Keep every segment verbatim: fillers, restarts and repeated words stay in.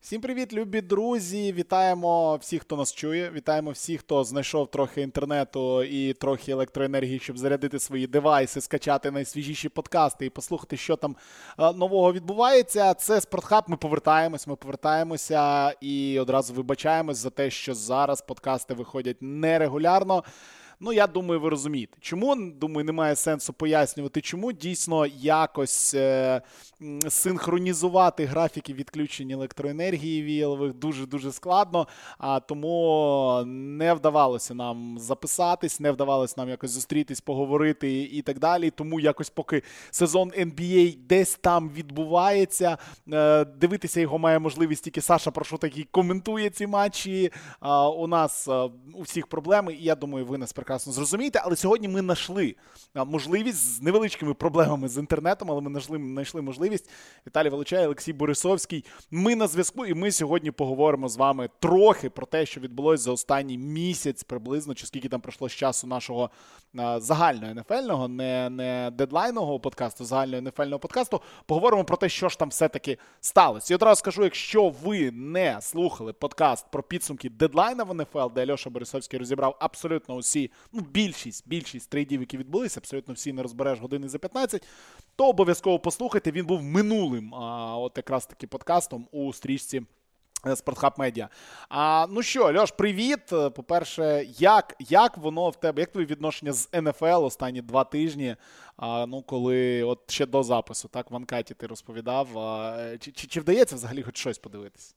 Всім привіт, любі друзі! Вітаємо всіх, хто нас чує. Вітаємо всіх, хто знайшов трохи інтернету і трохи електроенергії, щоб зарядити свої девайси, скачати найсвіжіші подкасти і послухати, що там а, нового відбувається. Це Спортхаб. Ми повертаємось, ми повертаємося і одразу вибачаємось за те, що зараз подкасти виходять нерегулярно. Ну, я думаю, ви розумієте. Чому? Думаю, немає сенсу пояснювати, чому. Дійсно, якось е- синхронізувати графіки відключення електроенергії віялових дуже-дуже складно, а тому не вдавалося нам записатись, не вдавалося нам якось зустрітись, поговорити і так далі. Тому якось поки сезон ен бі ей десь там відбувається, е- дивитися його має можливість тільки Саша Прошута, який коментує ці матчі. А у нас е- у всіх проблеми, і я думаю, ви нас прекрасно зрозумієте, але сьогодні ми знайшли можливість з невеличкими проблемами з інтернетом, але ми знайшли, знайшли можливість. Віталій Волочай, Олексій Борисовський. Ми на зв'язку, і ми сьогодні поговоримо з вами трохи про те, що відбулося за останній місяць приблизно, чи скільки там пройшло з часу нашого а, загального ен еф ельного, не, не дедлайнового подкасту, загального ен еф ельного подкасту. Поговоримо про те, що ж там все-таки сталося. І одразу скажу, якщо ви не слухали подкаст про підсумки дедлайна в ен еф ел, де Альоша Борисовський розібрав абсолютно усі, ну, більшість, більшість трейдів, які відбулися, абсолютно всі не розбереш години за п'ятнадцять, то обов'язково послухайте. Він був минулим, а, от якраз таки подкастом у стрічці Спортхаб Медіа. А, ну що, Льош, привіт. По-перше, як, як воно в тебе, як твоє відношення з ен еф ел останні два тижні, а, ну, коли от ще до запису, так, в анкеті ти розповідав, а, чи, чи, чи вдається взагалі хоч щось подивитись?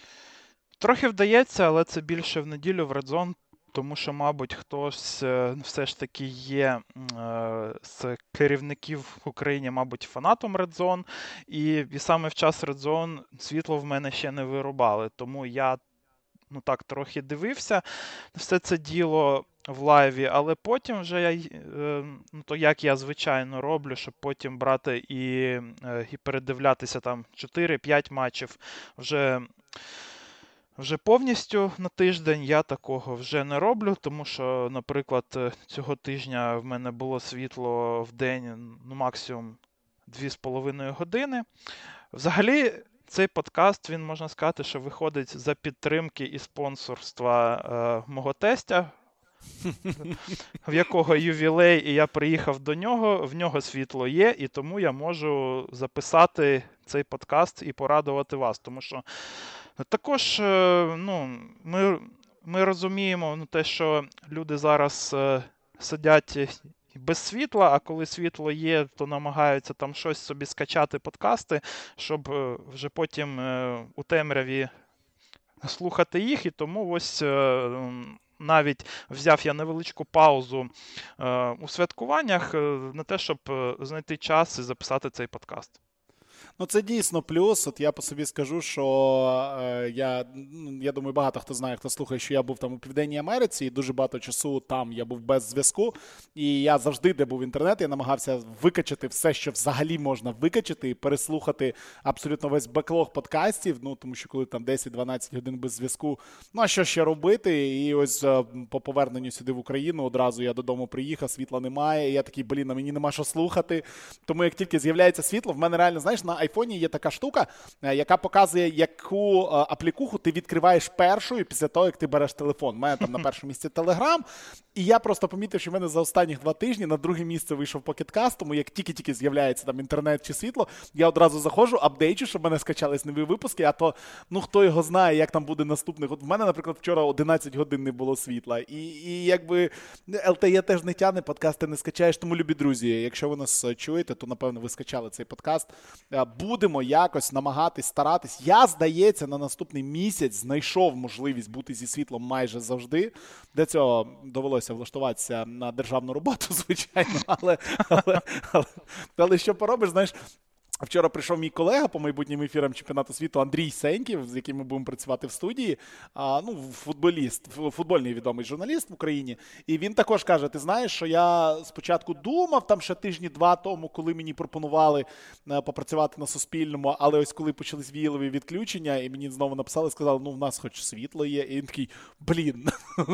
Трохи вдається, але це більше в неділю в Red Zone. Тому що, мабуть, хтось все ж таки є е, з керівників в Україні, мабуть, фанатом Red Zone, і, і саме в час Red Zone світло в мене ще не вирубали, тому я, ну так, трохи дивився все це діло в лайві, але потім вже я, е, ну то як я звичайно роблю, щоб потім брати і, е, і передивлятися там чотири-п'ять матчів вже... Вже повністю на тиждень я такого вже не роблю, тому що, наприклад, цього тижня в мене було світло в день, ну, максимум дві з половиною години. Взагалі, цей подкаст, він, можна сказати, що виходить за підтримки і спонсорства е, мого тестя, в якого ювілей, і я приїхав до нього, в нього світло є, і тому я можу записати цей подкаст і порадувати вас, тому що також, ну, ми, ми розуміємо, ну, те, що люди зараз е, сидять без світла, а коли світло є, то намагаються там щось собі скачати, подкасти, щоб е, вже потім е, у темряві слухати їх, і тому ось е, навіть взяв я невеличку паузу е, у святкуваннях е, на те, щоб знайти час і записати цей подкаст. Ну, це дійсно плюс. От я по собі скажу, що е, я, я думаю, багато хто знає, хто слухає, що я був там у Південній Америці, і дуже багато часу там я був без зв'язку. І я завжди, де був інтернет, я намагався викачати все, що взагалі можна викачати, і переслухати абсолютно весь беклог подкастів, ну, тому що коли там десять-дванадцять годин без зв'язку, ну, а що ще робити? І ось е, по поверненню сюди в Україну одразу я додому приїхав, світла немає, і я такий, блін, а мені нема що слухати. Тому як тільки з'являється світло, в мене реально, знаєш, на айфоні є така штука, яка показує, яку аплікуху ти відкриваєш першою після того, як ти береш телефон. У мене там на першому місці Телеграм, і я просто помітив, що в мене за останні два тижні на друге місце вийшов Pocket тому як тільки-тільки з'являється там інтернет чи світло, я одразу заходжу, апдейчу, щоб в мене скачались нові випуски, а то, ну, хто його знає, як там буде наступний. От в мене, наприклад, вчора одинадцять годин не було світла, і, і якби ел те і теж не тягне, подкасти не скачаєш, тому, любі друзі, якщо ви нас чуєте, то, напевно, ви скачали цей подкаст. Будемо якось намагатись, старатись. Я, здається, на наступний місяць знайшов можливість бути зі світлом майже завжди. Для цього довелося влаштуватися на державну роботу, звичайно, але, але, але, але що поробиш, знаєш, вчора прийшов мій колега по майбутнім ефірам чемпіонату світу Андрій Сеньків, з яким ми будемо працювати в студії, а, ну, футболіст, футбольний відомий журналіст в Україні, і він також каже, ти знаєш, що я спочатку думав, там ще тижні-два тому, коли мені пропонували а, попрацювати на Суспільному, але ось коли почались віялові відключення, і мені знову написали, сказали, ну, в нас хоч світло є, і він такий, блін,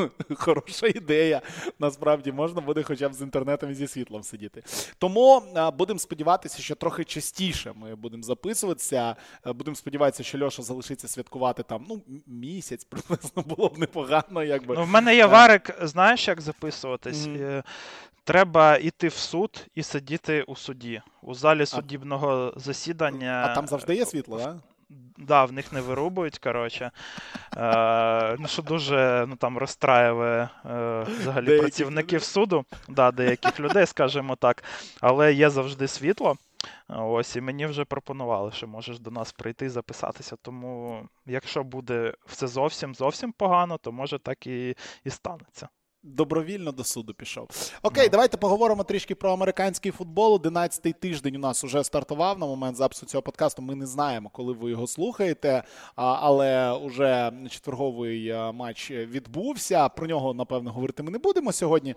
хороша ідея, насправді можна буде хоча б з інтернетом і зі світлом сидіти. Тому а, будемо сподіватися, що трохи частіше частіше ми будемо записуватися. Будемо сподіватися, що Льоша залишиться святкувати там, ну, місяць приблизно, було б непогано, якби. Ну, в мене є варик, знаєш, як записуватись? Mm-hmm. Треба йти в суд і сидіти у суді, у залі суддівного засідання. А там завжди є світло, так? Да? Да, в них не вирубують, коротше. Е, ну, що дуже, ну, там, розстраює е, взагалі деяких працівників людей. Суду. Да, деяких людей, скажімо так. Але є завжди світло. Ось, і мені вже пропонували, що можеш до нас прийти і записатися. Тому, якщо буде все зовсім, зовсім погано, то може так і, і станеться. Добровільно до суду пішов. Окей, no. Давайте поговоримо трішки про американський футбол. одинадцятий тиждень у нас уже стартував на момент запису цього подкасту. Ми не знаємо, коли ви його слухаєте, але уже четверговий матч відбувся. Про нього, напевно, говорити ми не будемо сьогодні,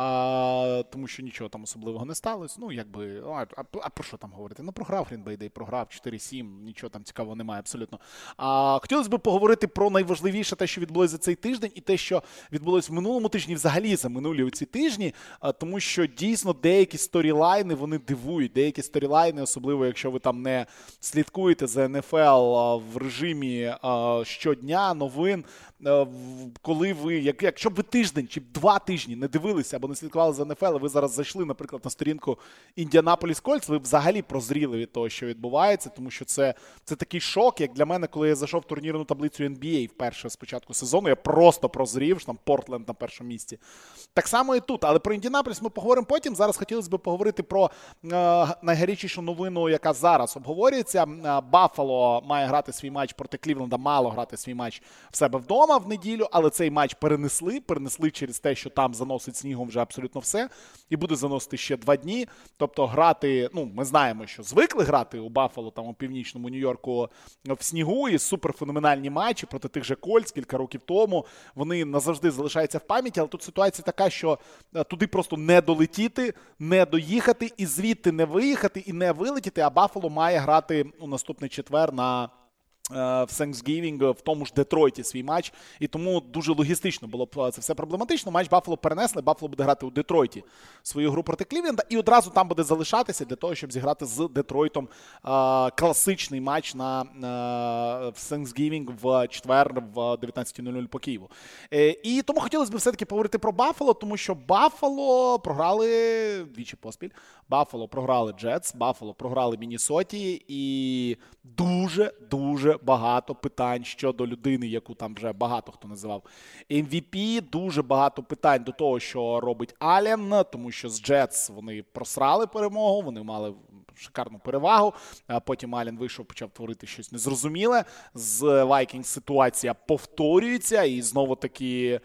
тому що нічого там особливого не сталося. Ну, якби, а про що там говорити? Ну, програв Green Bay Day, програв чотири сім, нічого там цікавого немає абсолютно. А, хотілося б поговорити про найважливіше те, що відбулося за цей тиждень, і те, що відбулося в минулому тижні, взагалі за минулі ці тижні, тому що дійсно деякі сторілайни, вони дивують. Деякі сторілайни, особливо якщо ви там не слідкуєте за ен еф ел в режимі щодня, новин, коли ви, якщо б ви тиждень чи два тижні не дивилися або не слідкували за ен еф ел, ви зараз зайшли, наприклад, на сторінку Індіанаполіс Кольтс, ви взагалі прозріли від того, що відбувається, тому що це, це такий шок, як для мене, коли я зайшов в турнірну таблицю ен бі ей вперше з початку сезону, я просто прозрів, що там Портленд на першому місці. Так само і тут, але про Індіанаполіс ми поговоримо потім. Зараз хотілося б поговорити про е, найгарячішу новину, яка зараз обговорюється. Баффало має грати свій матч проти Клівленда, мало грати свій матч в себе вдома в неділю, але цей матч перенесли, перенесли через те, що там заносить снігом вже абсолютно все, і буде заносити ще два дні. Тобто грати, ну, ми знаємо, що звикли грати у Баффало, там у північному Нью-Йорку в снігу, і суперфеноменальні матчі проти тих же Кольтс кілька років тому. Вони назавжди залишаються в пам'яті, але тут ситуація така, що туди просто не долетіти, не доїхати, і звідти не виїхати, і не вилетіти, а Баффало має грати у наступний четвер на в Thanksgiving в тому ж Детройті свій матч, і тому дуже логістично було б це все проблематично. Матч Баффало перенесли, Баффало буде грати у Детройті свою гру проти Клівленда, і одразу там буде залишатися для того, щоб зіграти з Детройтом а, класичний матч на а, в Thanksgiving в четвер в дев'ятнадцята нуль нуль по Києву. Е, і тому хотілося б все-таки поговорити про Баффало, тому що Баффало програли двічі поспіль. Баффало програли Джетс, Баффало програли Міннесоті, і дуже-дуже багато питань щодо людини, яку там вже багато хто називав ем ві пі, дуже багато питань до того, що робить Аллен, тому що з Джетс вони просрали перемогу, вони мали шикарну перевагу, а потім Аллен вийшов, почав творити щось незрозуміле, з Вайкінгс ситуація повторюється, і знову таки...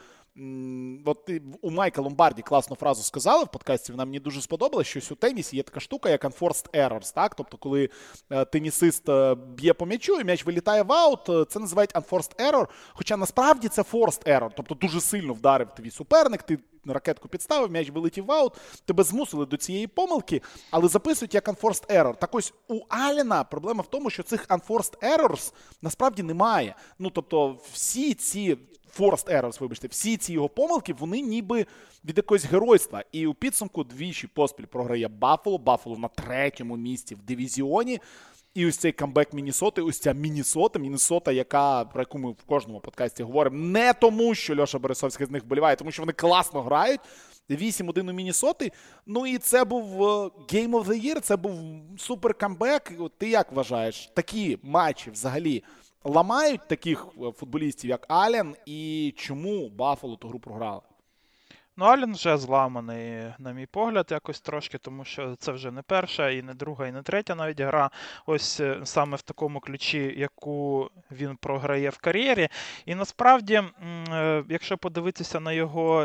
От у Майка Ломбарді класну фразу сказали в подкасті, вона мені дуже сподобалась, що у тенісі є така штука, як unforced errors, так? Тобто, коли е, тенісист е, б'є по м'ячу і м'яч вилітає в аут, е, це називають unforced error, хоча насправді це forced error, тобто дуже сильно вдарив твій суперник, ти ракетку підставив, м'яч вилетів в аут, тебе змусили до цієї помилки, але записують як unforced error. Так ось у Аллена проблема в тому, що цих unforced errors насправді немає. Ну, тобто всі ці forced errors, вибачте, всі ці його помилки, вони ніби від якогось геройства. І у підсумку двічі поспіль програє Баффало, Баффало на третьому місці в дивізіоні. І ось цей камбек Міннесоти, ось ця Міннесота, Міннесота, яка, про яку ми в кожному подкасті говоримо, не тому, що Льоша Борисовський з них вболіває, тому що вони класно грають. вісім один у Міннесоти. Ну і це був Game of the Year, це був супер камбек. Ти як вважаєш, такі матчі взагалі ламають таких футболістів, як Аллен, і чому Баффало ту гру програли? Ну, Аллен вже зламаний, на мій погляд, якось трошки, тому що це вже не перша, і не друга, і не третя навіть гра. Ось саме в такому ключі, яку він програє в кар'єрі. І насправді, якщо подивитися на його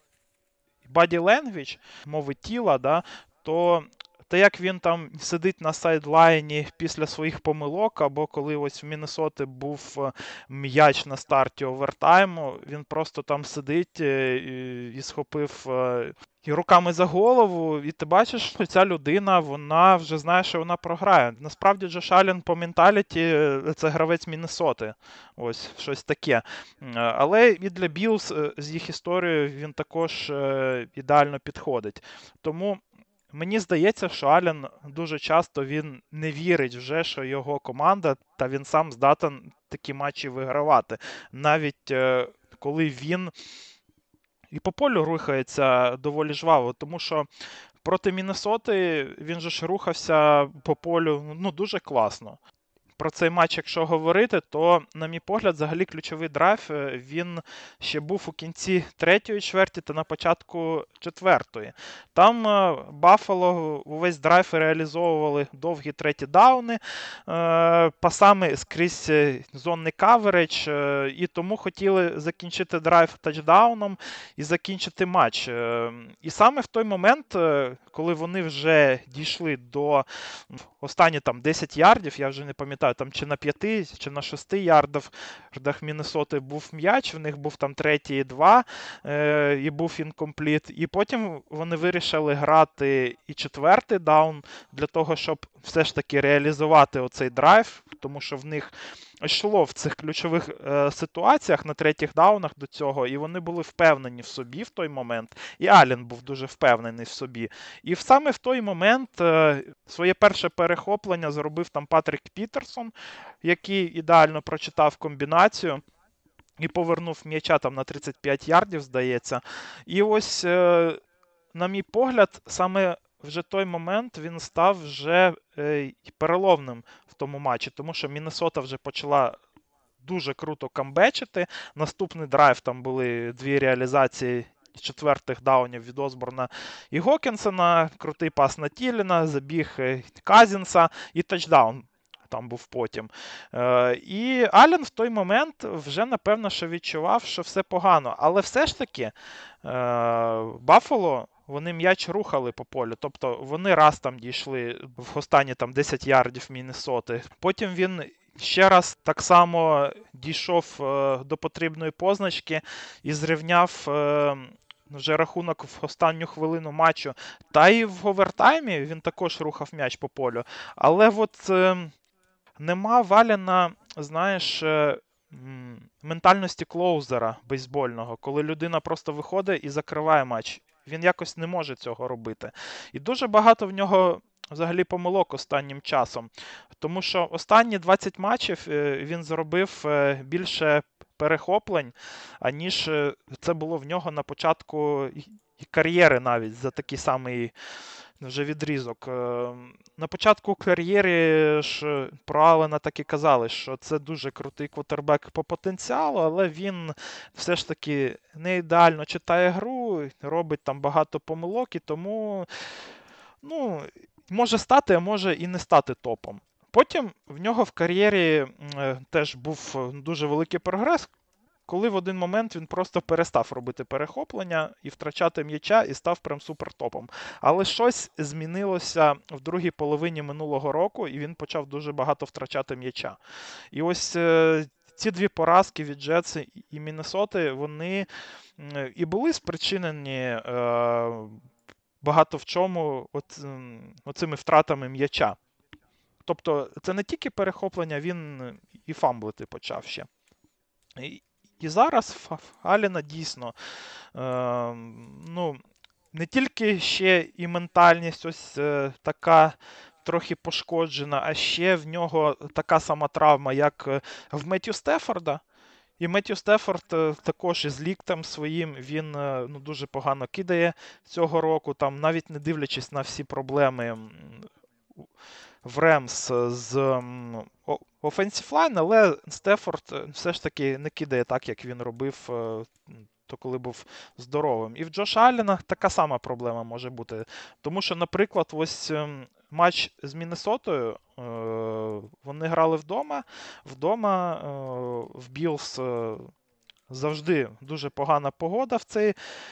body language, мови тіла, да, то... Та як він там сидить на сайдлайні після своїх помилок, або коли ось в Міннесоти був м'яч на старті овертайму, він просто там сидить і, і схопив і руками за голову, і ти бачиш, що ця людина, вона вже знає, що вона програє. Насправді Джош Аллен по менталіті це гравець Міннесоти, ось щось таке. Але і для Білз з їх історією він також ідеально підходить. Тому мені здається, що Аллен дуже часто він не вірить вже, що його команда, та він сам здатен такі матчі вигравати. Навіть е, коли він і по полю рухається доволі жваво, тому що проти Міннесоти він же ж рухався по полю ну, дуже класно. Про цей матч, якщо говорити, то, на мій погляд, взагалі ключовий драйв, він ще був у кінці третьої чверті та на початку четвертої. Там Баффало увесь драйв реалізовували довгі треті дауни, пасами скрізь зонний каверидж, і тому хотіли закінчити драйв тачдауном і закінчити матч. І саме в той момент, коли вони вже дійшли до останні там десять ярдів, я вже не пам'ятаю, там чи на п'яти, чи на шести ярдах Міннесоти був м'яч, в них був там третій і два, е, і був інкомпліт. І потім вони вирішили грати і четвертий даун для того, щоб все ж таки реалізувати оцей драйв, тому що в них йшло в цих ключових е, ситуаціях на третіх даунах до цього, і вони були впевнені в собі в той момент. І Аллен був дуже впевнений в собі. І саме в той момент е, своє перше перехоплення зробив там Патрік Пітерсон, який ідеально прочитав комбінацію і повернув м'яча там на тридцять п'ять ярдів, здається. І ось, е, на мій погляд, саме вже той момент він став вже е, переломним в тому матчі, тому що Міннесота вже почала дуже круто камбечити. Наступний драйв, там були дві реалізації четвертих даунів від Осборна і Гокінсона, крутий пас на Тіліна, забіг Казінса і тачдаун там був потім. Е, і Аллен в той момент вже, напевно, що відчував, що все погано. Але все ж таки, е, Баффало, вони м'яч рухали по полю. Тобто вони раз там дійшли в останні там десять ярдів Міннесоти. Потім він ще раз так само дійшов е, до потрібної позначки і зрівняв е, вже рахунок в останню хвилину матчу. Та і в овертаймі він також рухав м'яч по полю. Але от е, нема Валяна, знаєш, е, ментальності клоузера бейсбольного, коли людина просто виходить і закриває матч. Він якось не може цього робити. І дуже багато в нього взагалі помилок останнім часом. Тому що останні двадцять матчів він зробив більше перехоплень, аніж це було в нього на початку кар'єри навіть за такий самий вже відрізок. На початку кар'єри ж про Аллена так і казали, що це дуже крутий квотербек по потенціалу, але він все ж таки не ідеально читає гру, робить там багато помилок, і тому, ну, може стати, а може і не стати топом. Потім в нього в кар'єрі е, теж був дуже великий прогрес, коли в один момент він просто перестав робити перехоплення і втрачати м'яча, і став прям супертопом. Але щось змінилося в другій половині минулого року, і він почав дуже багато втрачати м'яча. І ось е, ці дві поразки від Джетси і Міннесоти, вони е, і були спричинені е, багато в чому от, е, оцими втратами м'яча. Тобто це не тільки перехоплення, він і фамблити почав ще. І, і зараз Аллена дійсно е, ну, не тільки ще і ментальність ось е, така трохи пошкоджена, а ще в нього така сама травма, як в Меттью Стефорда. І Меттью Стефорд також із ліктем своїм, він ну, дуже погано кидає цього року, там навіть не дивлячись на всі проблеми в Ремс з Offensive Line, але Стефорд все ж таки не кидає так, як він робив, то коли був здоровим. І в Джоша Аллена така сама проблема може бути. Тому що, наприклад, ось матч з Міннесотою, вони грали вдома, вдома в Білс завжди дуже погана погода в цей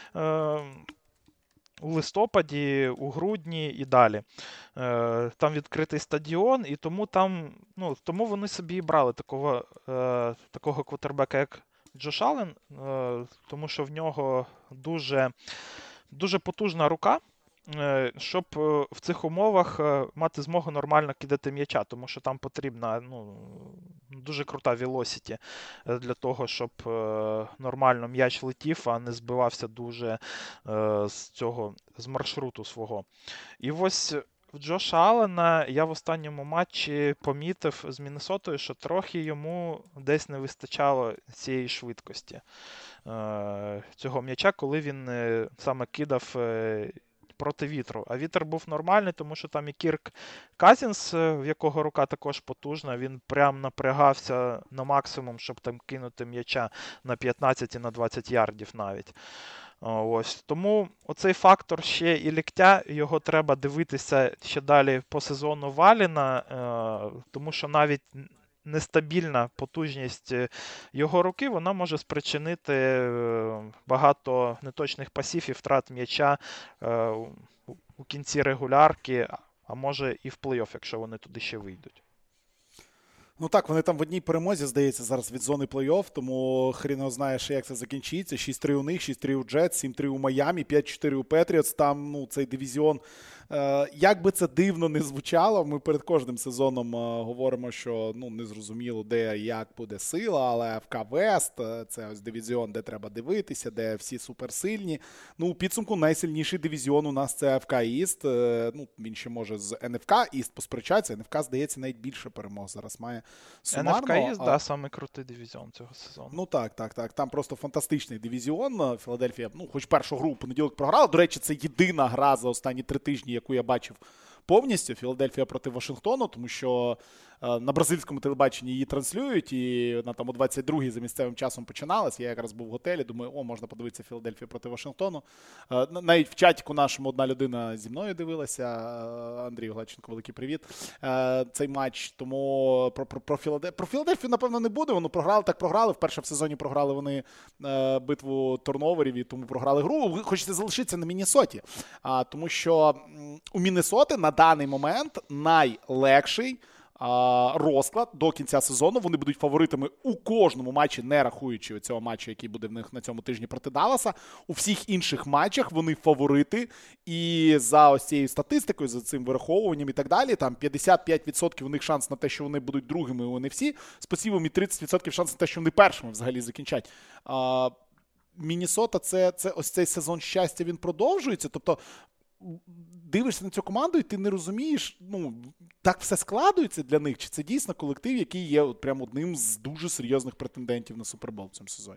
у листопаді, у грудні і далі. Е, там відкритий стадіон, і тому там, ну, тому вони собі і брали такого, е, такого квотербека, як Джош Аллен, е, тому що в нього дуже, дуже потужна рука, е, щоб е, в цих умовах е, мати змогу нормально кидати м'яча, тому що там потрібна ну, дуже крута velocity е, для того, щоб е, нормально м'яч летів, а не збивався дуже е, з цього, з маршруту свого. І ось в Джоша Аллена я в останньому матчі помітив з Міннесотою, що трохи йому десь не вистачало цієї швидкості е, цього м'яча, коли він е, саме кидав е, проти вітру. А вітер був нормальний, тому що там і Кірк Казінс, е, в якого рука також потужна, він прям напрягався на максимум, щоб там кинути м'яча на п'ятнадцять і на двадцять ярдів навіть. О, Ось. Тому оцей фактор ще і ліктя, його треба дивитися ще далі по сезону Валіна, е, тому що навіть нестабільна потужність е, його руки, вона може спричинити е, багато неточних пасів і втрат м'яча е, у- у кінці регулярки, а може і в плей-офф, якщо вони туди ще вийдуть. Ну так, вони там в одній перемозі, здається, зараз від зони плей-офф, тому хрін його знає, ще як це закінчиться. шість три у них, шість три у Джетс, сім три у Майамі, п'ять чотири у Петріотс. Там, ну, цей дивізіон, е, як би це дивно не звучало, ми перед кожним сезоном е, говоримо, що, ну, незрозуміло, де і як буде сила, але еф ка Вест, е, це ось дивізіон, де треба дивитися, де всі суперсильні. Ну, у підсумку найсильніший дивізіон у нас це еф ка Іст. Е, ну, він ще може з ен еф ка Іст посперечатися. ен еф ка, здається, навіть більше перемог зараз має. ен еф ка East, а... да, самий крутий дивізіон цього сезону. Ну так, так, так. Там просто фантастичний дивізіон. Філадельфія, ну, хоч першу гру у понеділок програла. До речі, це єдина гра за останні три тижні, яку я бачив повністю. Філадельфія проти Вашингтону, тому що е, на бразильському телебаченні її транслюють, і вона там о двадцять другій за місцевим часом починалась. Я якраз був в готелі, думаю, о, можна подивитися Філадельфія проти Вашингтону. Е, навіть в чатіку нашому одна людина зі мною дивилася. Е, Андрій Гладченко, великий привіт. Е, цей матч, тому про, про, про, Філадельфію, про Філадельфію, напевно, не буде. Вони програли, так програли. Вперше в сезоні програли вони е, битву турноверів, і тому програли гру. Хочете залишитися на Міннесоті. А, тому що м, у Міннесоти на даний момент найлегший а, розклад до кінця сезону. Вони будуть фаворитами у кожному матчі, не рахуючи цього матчу, який буде в них на цьому тижні проти Далласа. У всіх інших матчах вони фаворити. І за ось цією статистикою, за цим вираховуванням і так далі, там п'ятдесят п'ять відсотків у них шанс на те, що вони будуть другими у ен еф сі, з посівом і тридцять відсотків шанс на те, що вони першими взагалі закінчать. А, Міннесота, це, це ось цей сезон щастя, він продовжується. Тобто дивишся на цю команду, і ти не розумієш, ну, так все складується для них, чи це дійсно колектив, який є от прям одним з дуже серйозних претендентів на Супербол в цьому сезоні.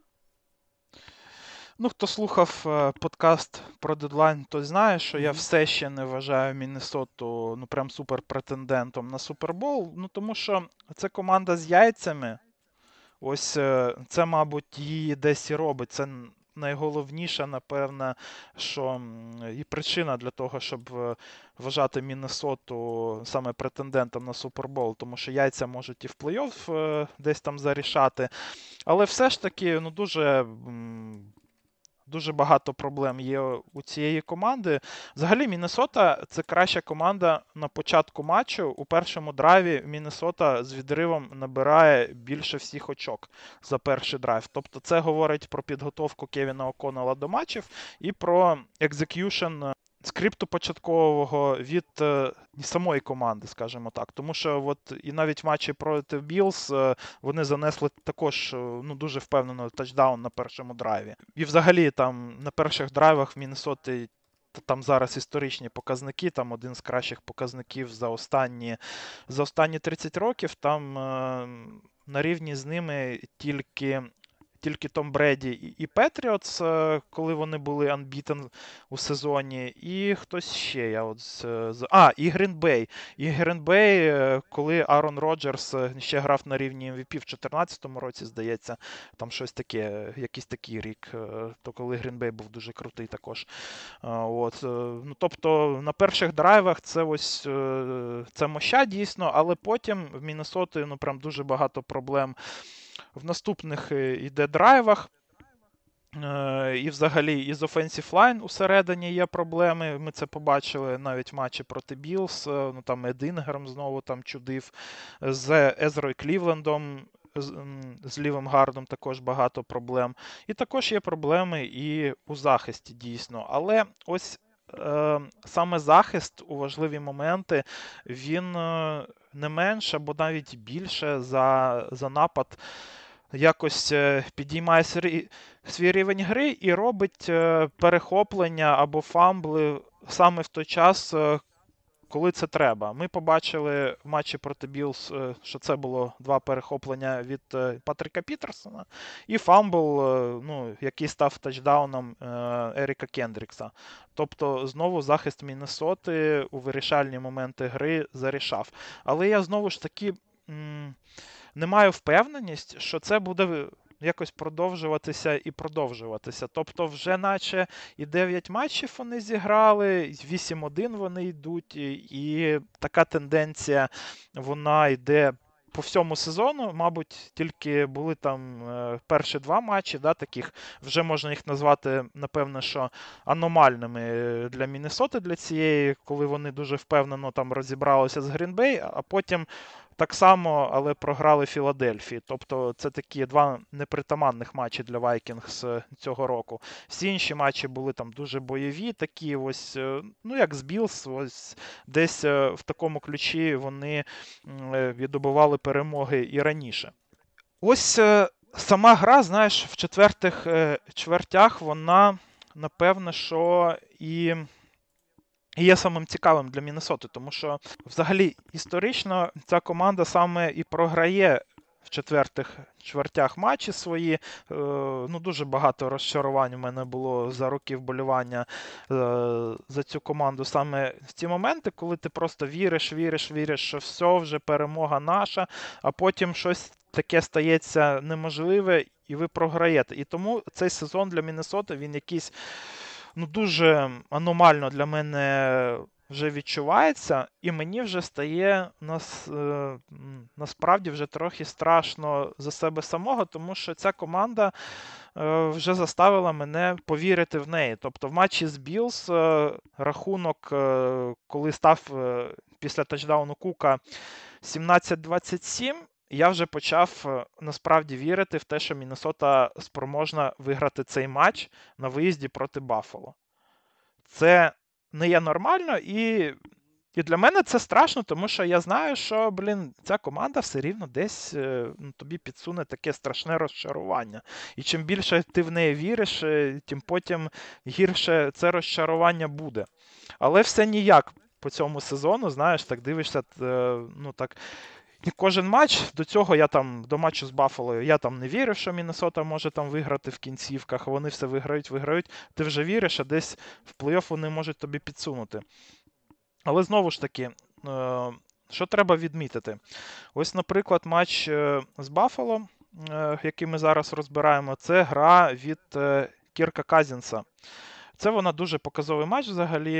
Ну, хто слухав е, подкаст про дедлайн, той знає, що я Мгм. все ще не вважаю Міннесоту ну прям суперпретендентом на Супербол. Ну тому що це команда з яйцями. Ось е, це, мабуть, її десь і робить. Це н- найголовніша, напевне, що м, і причина для того, щоб е, вважати Міннесоту саме претендентом на Супербол, тому що яйця можуть і в плей-офф е, десь там зарішати. Але все ж таки, ну дуже. м, Дуже багато проблем є у цієї команди. Взагалі, Міннесота – це краща команда на початку матчу. У першому драйві Міннесота з відривом набирає більше всіх очок за перший драйв. Тобто це говорить про підготовку Кевіна О'Коннелла до матчів і про екзек'юшн скрипту початкового від е, самої команди, скажімо так. Тому що от і навіть в матчі проти Білс е, вони занесли також е, ну, дуже впевнено тачдаун на першому драйві. І взагалі там на перших драйвах в Міннесоти там зараз історичні показники, там один з кращих показників за останні, за останні тридцять років, там е, на рівні з ними тільки тільки Том Бреді і Петріотс, коли вони були unbeaten у сезоні, і хтось ще. Я от з... А, і Грін-Бей. І Грін-Бей, коли Аарон Роджерс ще грав на рівні ем ві пі в чотирнадцятому році, здається, там щось таке, якийсь такий рік, то коли Грін-Бей був дуже крутий також. От. Ну, тобто на перших драйвах це ось це моща дійсно, але потім в Міннесоті ну прям дуже багато проблем в наступних іде драйвах. І взагалі із offensive line усередині є проблеми. Ми це побачили навіть в матчі проти Білс. Ну, там Ед Інграм знову там чудив. З Езрою Клівлендом, з, з лівим гардом також багато проблем. І також є проблеми і у захисті дійсно. Але ось е, саме захист у важливі моменти, він е, не менше, або навіть більше за, за напад якось е, підіймає свій, свій рівень гри і робить е, перехоплення або фамбли саме в той час, е, коли це треба. Ми побачили в матчі проти Білс, е, що це було два перехоплення від е, Патріка Пітерсона і фамбл, е, ну, який став тачдауном е, Еріка Кендрікса. Тобто, знову захист Міннесоти у вирішальні моменти гри зарішав. Але я знову ж таки м, не маю впевненість, що це буде якось продовжуватися і продовжуватися. Тобто вже наче і дев'ять матчів вони зіграли, вісім один вони йдуть, і, і така тенденція, вона йде по всьому сезону. Мабуть, тільки були там е, перші два матчі, да, таких, вже можна їх назвати, напевно, що аномальними для Міннесоти, для цієї, коли вони дуже впевнено там розібралися з Грін-Бей, а потім так само, але програли Філадельфії. Тобто це такі два непритаманних матчі для Vikings цього року. Всі інші матчі були там дуже бойові, такі ось, ну як з Білс, ось десь в такому ключі вони віддобували перемоги і раніше. Ось сама гра, знаєш, в четвертих чвертях вона, напевно, що і І є самим цікавим для Міннесоти, тому що взагалі історично ця команда саме і програє в четвертих чвертях матчі свої. Е, ну, дуже багато розчарувань у мене було за роки вболівання е, за цю команду саме в ці моменти, коли ти просто віриш, віриш, віриш, що все, вже перемога наша, а потім щось таке стається неможливе, і ви програєте. І тому цей сезон для Міннесоти, він якийсь ну, дуже аномально для мене вже відчувається, і мені вже стає нас, е, насправді вже трохи страшно за себе самого, тому що ця команда е, вже заставила мене повірити в неї. Тобто в матчі з Білс е, рахунок, е, коли став е, після тачдауну Кука сімнадцять двадцять сім, я вже почав насправді вірити в те, що Міннесота спроможна виграти цей матч на виїзді проти Баффало. Це не є нормально, і, і для мене це страшно, тому що я знаю, що, блін, ця команда все рівно десь ну, тобі підсуне таке страшне розчарування. І чим більше ти в неї віриш, тим потім гірше це розчарування буде. Але все ніяк по цьому сезону, знаєш, так дивишся, ну так... Кожен матч, до цього я там, до матчу з Баффало, я там не вірив, що Міннесота може там виграти в кінцівках, вони все виграють, виграють, ти вже віриш, а десь в плей-офф вони можуть тобі підсунути. Але знову ж таки, що треба відмітити? Ось, наприклад, матч з Баффало, який ми зараз розбираємо, це гра від Кірка Казінса. Це вона дуже показовий матч взагалі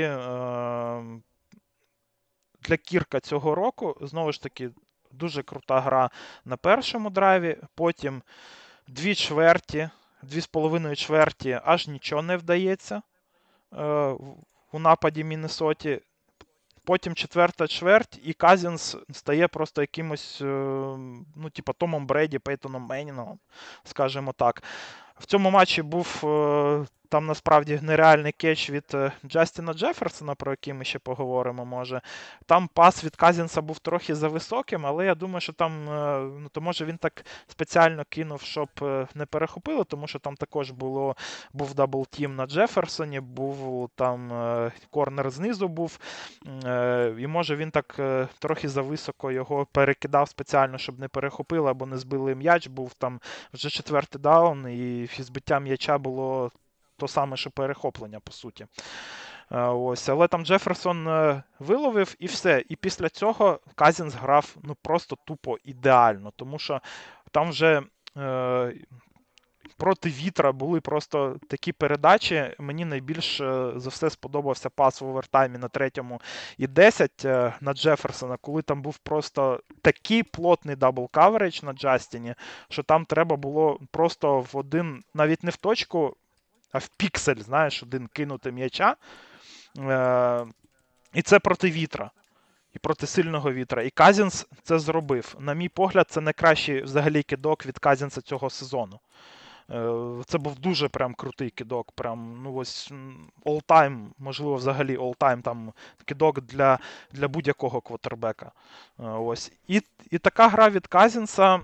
для Кірка цього року. Знову ж таки, дуже крута гра на першому драйві, потім дві чверті, дві з половиною чверті, аж нічого не вдається е, у нападі Міннесоті. Потім четверта чверть, і Казінс стає просто якимось, е, ну, типа Томом Бреді, Пейтоном Менінгом, скажімо так. В цьому матчі був е, там насправді нереальний кетч від е, Джастіна Джеферсона, про який ми ще поговоримо, може. Там пас від Казінса був трохи зависоким, але я думаю, що там, е, ну, то може він так спеціально кинув, щоб е, не перехопило, тому що там також було, був даблтім на Джеферсоні, був там е, корнер знизу був, е, і може він так е, трохи зависоко його перекидав спеціально, щоб не перехопило або не збили м'яч, був там вже четвертий даун, і збиття м'яча було то саме, що перехоплення, по суті. Ось. Але там Джеферсон виловив і все. І після цього Казінс грав ну, просто тупо ідеально, тому що там вже е, проти вітра були просто такі передачі. Мені найбільш за все сподобався пас в овертаймі на третьому і десять на Джеферсона, коли там був просто такий плотний дабл-каверидж на Джастіні, що там треба було просто в один, навіть не в точку, а в піксель, знаєш, один кинути м'яча. Е- і це проти вітра. І проти сильного вітра. І Казінс це зробив. На мій погляд, це найкращий взагалі кидок від Казінса цього сезону. Це був дуже прям крутий кидок, прям, ну ось all-time, можливо, взагалі all-time там кидок для, для будь-якого квотербека. Ось. І, і така гра від Казінса,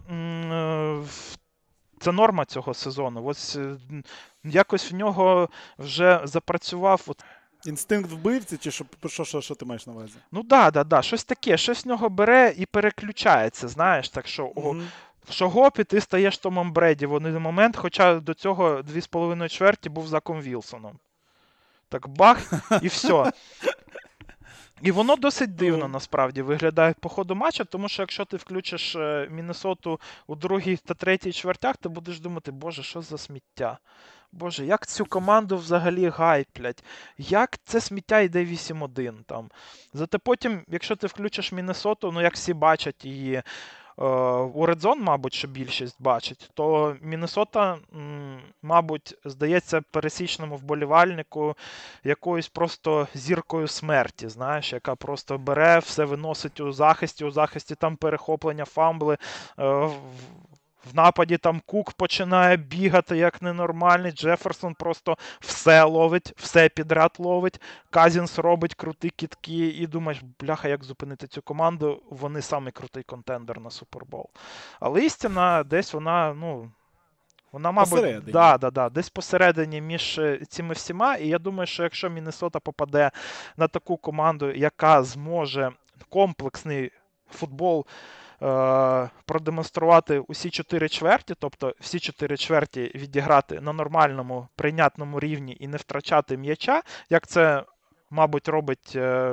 це норма цього сезону. Ось якось в нього вже запрацював... От... Інстинкт вбивці, чи що, що, що, що ти маєш на увазі? Ну да, да, да, щось таке, щось в нього бере і переключається, знаєш, так що... Mm-hmm. Що гоп, і ти стаєш Томом Бреді в один момент, хоча до цього дві з половиною чверті був Заком Вілсоном. Так бах, і все. І воно досить дивно, насправді, виглядає по ходу матчу, тому що якщо ти включиш Міннесоту у другій та третій чвертях, ти будеш думати, боже, що за сміття? Боже, як цю команду взагалі гайплять? Як це сміття йде вісім один там? Зате потім, якщо ти включиш Міннесоту, ну як всі бачать її, у Red Zone, мабуть, що більшість бачить, то Міннесота, мабуть, здається пересічному вболівальнику якоюсь просто зіркою смерті, знаєш, яка просто бере, все виносить у захисті, у захисті там перехоплення, фамбли, в нападі там Кук починає бігати як ненормальний, Джеферсон просто все ловить, все підряд ловить, Казінс робить круті кидки і думаєш, бляха, як зупинити цю команду, вони самий крутий контендер на Супербол. Але істина десь вона, ну, вона, мабуть, да, да, да, десь посередині між цими всіма, і я думаю, що якщо Міннесота попаде на таку команду, яка зможе комплексний футбол продемонструвати усі чотири чверті, тобто всі чотири чверті відіграти на нормальному, прийнятному рівні і не втрачати м'яча, як це, мабуть, робить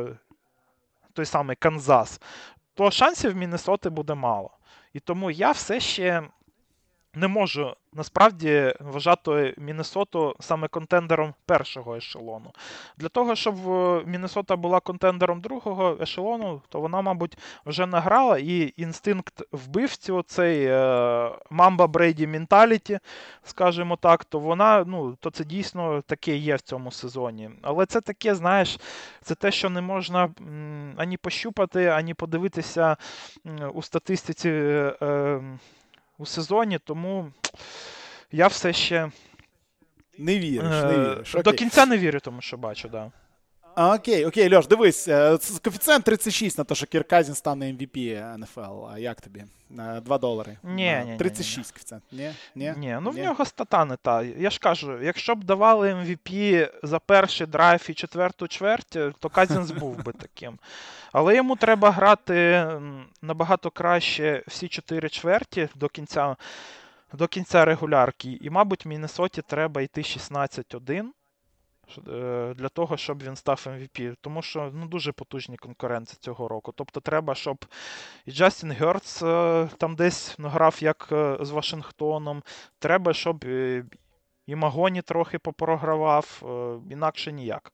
той самий Канзас, то шансів в Міннесоти буде мало. І тому я все ще не можу, насправді, вважати Міннесоту саме контендером першого ешелону. Для того, щоб Міннесота була контендером другого ешелону, то вона, мабуть, вже награла, і інстинкт вбивці, оцей Мамба Брейді менталіті, скажімо так, то вона, ну, то це дійсно таке є в цьому сезоні. Але це таке, знаєш, це те, що не можна м, ані пощупати, ані подивитися м, у статистиці е, у сезоні, тому я все ще не віриш, не віриш. До кінця не вірю, тому що бачу, да. А, окей, окей, Льош, дивись, коефіцієнт тридцять шість на те, що Кірк Казінс стане ем ві пі ен еф ел. А як тобі? два долари. Ні, ні, тридцять шість коефіцієнт. Ні, ні. Ні, ну в нього стата не та. Я ж кажу, якщо б давали ем ві пі за перший драйв і четверту чверть, то Казінс був би таким. Але йому треба грати набагато краще всі чотири чверті до кінця, до кінця регулярки. І, мабуть, Міннесоті треба йти шістнадцять один для того, щоб він став ем ві пі. Тому що, ну, дуже потужні конкуренції цього року. Тобто треба, щоб і Джастін Герц там десь грав як з Вашингтоном. Треба, щоб і Магоні трохи попрогравав. Інакше ніяк.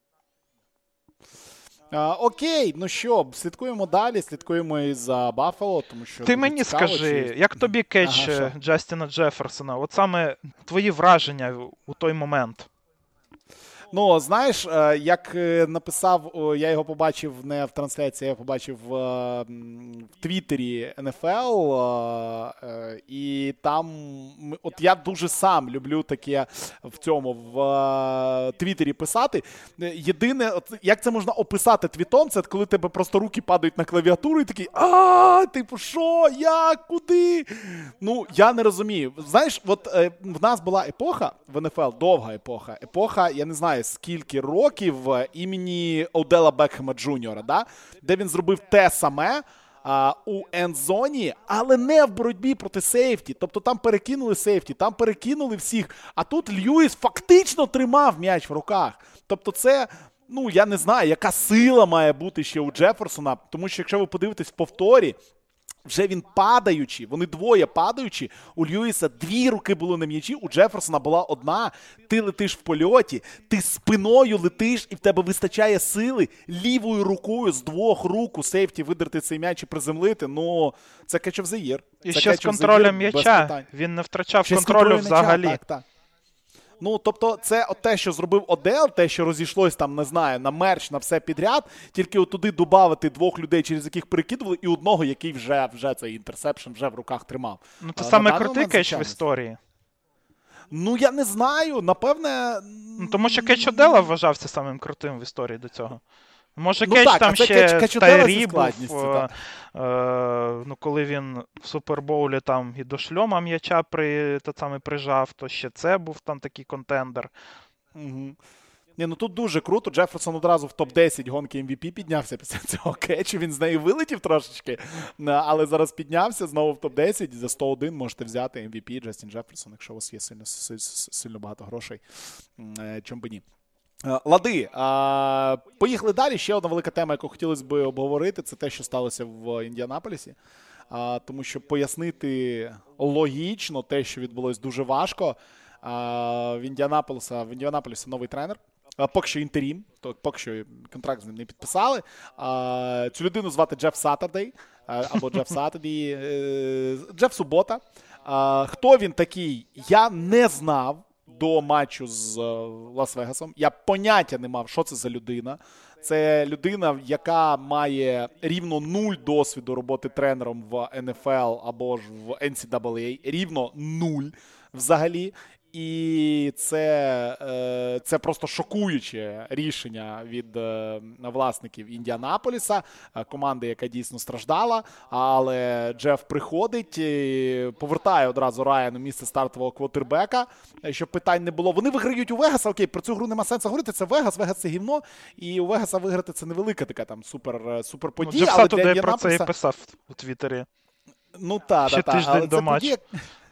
А, окей, ну що, слідкуємо далі, слідкуємо і за Баффало, тому що... Ти мені цікаво, скажи, чи... як тобі кетч ага, Джастіна Джеферсона? От саме твої враження у той момент? Ну, знаєш, як написав, я його побачив не в трансляції, я побачив в Твіттері ен еф ел, і там, от я дуже сам люблю таке в цьому, в Твіттері писати. Єдине, от, як це можна описати твітом, це коли тебе просто руки падають на клавіатуру і такий, а, типу, що, як, куди? Ну, я не розумію. Знаєш, от в нас була епоха в ен еф ел, довга епоха, епоха, я не знаю, скільки років імені Одела Бекхема Джуніора, да? Де він зробив те саме а, у ендзоні, але не в боротьбі проти сейфті. Тобто там перекинули сейфті, там перекинули всіх, а тут Льюіс фактично тримав м'яч в руках. Тобто це, ну, я не знаю, яка сила має бути ще у Джеферсона, тому що якщо ви подивитесь в повторі, вже він падаючи, вони двоє падаючи, у Льюіса дві руки були на м'ячі, у Джеферсона була одна, ти летиш в польоті, ти спиною летиш і в тебе вистачає сили лівою рукою з двох рук у сейфті видерти цей м'яч і приземлити, ну, це catch of the year. І це ще з контролем м'яча, він не втрачав ще контролю взагалі. М'яча, так, так. Ну, тобто, це от те, що зробив Одел, те, що розійшлось там, не знаю, на мерч, на все підряд, тільки от туди додати двох людей, через яких перекидували, і одного, який вже, вже цей інтерсепшн вже в руках тримав. Ну, це а, саме крутий кетч в історії. Ну, я не знаю, напевне... Ну, тому що Кетч Одела вважався самим крутим в історії до цього. Може, Ну Кетч так, а там це ще Кетч- Кетч Одела зі Тайрі був, складністю, е, так. е, ну, коли він в Супербоулі там і до шльома м'яча при, та саме прижав, то ще це був там такий контендер. Угу. Ні, ну тут дуже круто. Джеферсон одразу в топ десять гонки ем ві пі піднявся після цього кетчу. Він з неї вилетів трошечки, але зараз піднявся знову в топ десять. За сто один можете взяти ем ві пі Джастін Джеферсон, якщо у вас є сильно, сильно багато грошей. Чом би ні. Лади, а, поїхали далі. Ще одна велика тема, яку хотілося б обговорити, це те, що сталося в Індіанаполісі. А, тому що пояснити логічно те, що відбулось, дуже важко. А, в Індіанаполіса, в Індіанаполісі новий тренер. А, поки що інтерім, то поки що контракт з ним не підписали. А, цю людину звати Джеф Саттердей, або Джеф Саттердей, Джеф Субота. А, хто він такий, я не знав до матчу з Лас-Вегасом. Я поняття не мав, що це за людина. Це людина, яка має рівно нуль досвіду роботи тренером в ен еф ел або ж в ен сі ей ей. Рівно нуль взагалі. І це, це просто шокуюче рішення від власників Індіанаполіса, команди, яка дійсно страждала. Але Джеф приходить, повертає одразу Райану місце стартового квотербека, щоб питань не було. Вони виграють у Вегаса, окей, про цю гру нема сенсу говорити, це Вегас, Вегас це гівно, і у Вегаса виграти це невелика така там супер, супер подія. Ну, Джеф але для Саттердей про це і Індіанаполіса... писав у Твіттері. Ну так, Ще так, тиждень але до це матчу. подія...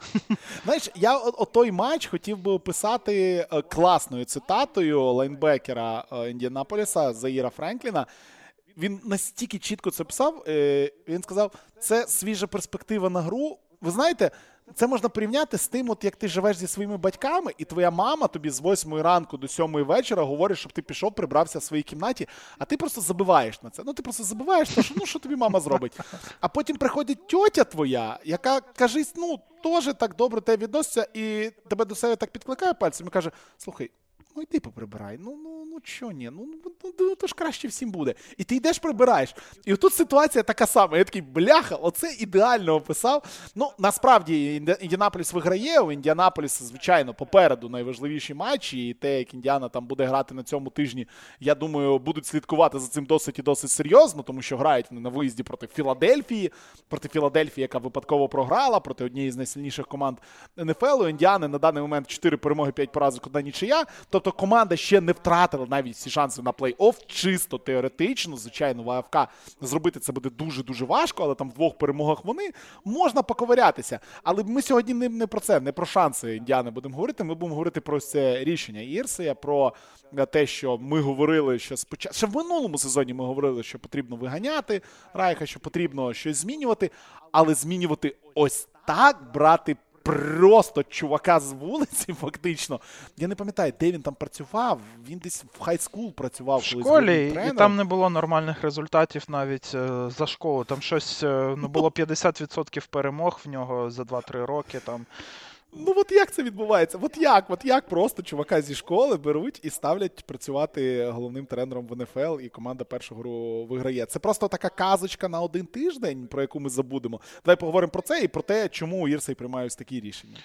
Знаєш, я о, о той матч хотів би описати е, класною цитатою лайнбекера е, Індіанаполіса Заїра Френкліна. Він настільки чітко це писав, е, він сказав, це свіжа перспектива на гру. Ви знаєте, це можна порівняти з тим, от як ти живеш зі своїми батьками, і твоя мама тобі з восьмої ранку до сьомої вечора говорить, щоб ти пішов, прибрався в своїй кімнаті, а ти просто забиваєш на це. Ну, ти просто забиваєш, то, що, ну, що тобі мама зробить. А потім приходить тьотя твоя, яка, кажись, ну, теж так добре тебе відноситься, і тебе до себе так підкликає пальцем і каже, слухай, ну йди поприбирай, ну, ну, ну, чо ні, ну, ну, ну, то ж краще всім буде. І ти йдеш прибираєш. І отут ситуація така сама. Я такий, бляха, оце ідеально описав. Ну, насправді, Індіанаполіс виграє, у Індіанаполіса, звичайно, попереду найважливіші матчі, і те, як Індіана там буде грати на цьому тижні, я думаю, будуть слідкувати за цим досить і досить серйозно, тому що грають вони на виїзді проти Філадельфії, проти Філадельфії, яка випадково програла, проти однієї з найсильніших команд ен еф ел. У Індіани на даний момент чотири перемоги, п'ять поразок, одна нічия. Тобто команда ще не втратила навіть всі шанси на плей-офф, чисто теоретично, звичайно, в АФК зробити це буде дуже-дуже важко, але там в двох перемогах вони можна поковирятися. Але ми сьогодні не, не про це, не про шанси Індіани будемо говорити, ми будемо говорити про це рішення Ірсея, про те, що ми говорили, що спочатку, ще в минулому сезоні ми говорили, що потрібно виганяти Райха, що потрібно щось змінювати, але змінювати ось так, брати просто чувака з вулиці, фактично. Я не пам'ятаю, де він там працював. Він десь в хай-скул працював. В школі, і там не було нормальних результатів навіть е, за школу. Там щось, е, ну, було п'ятдесят відсотків перемог в нього за два-три роки. Там. Ну от як це відбувається? От як? От як просто чувака зі школи беруть і ставлять працювати головним тренером в ен еф ел, і команда першу гру виграє. Це просто така казочка на один тиждень, про яку ми забудемо. Давай поговоримо про це і про те, чому Ірсей приймає ось такі рішення.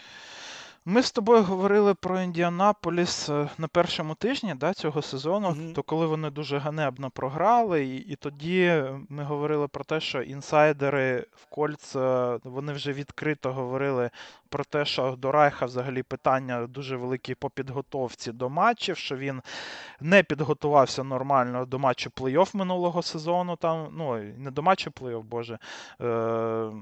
Ми з тобою говорили про Індіанаполіс на першому тижні, да, цього сезону, mm-hmm. то коли вони дуже ганебно програли, і, і тоді ми говорили про те, що інсайдери в Кольц, вони вже відкрито говорили про те, що до Райха взагалі питання дуже великі по підготовці до матчів, що він не підготувався нормально до матчу плей-офф минулого сезону, там, ну, не до матчу плей-офф, боже, е-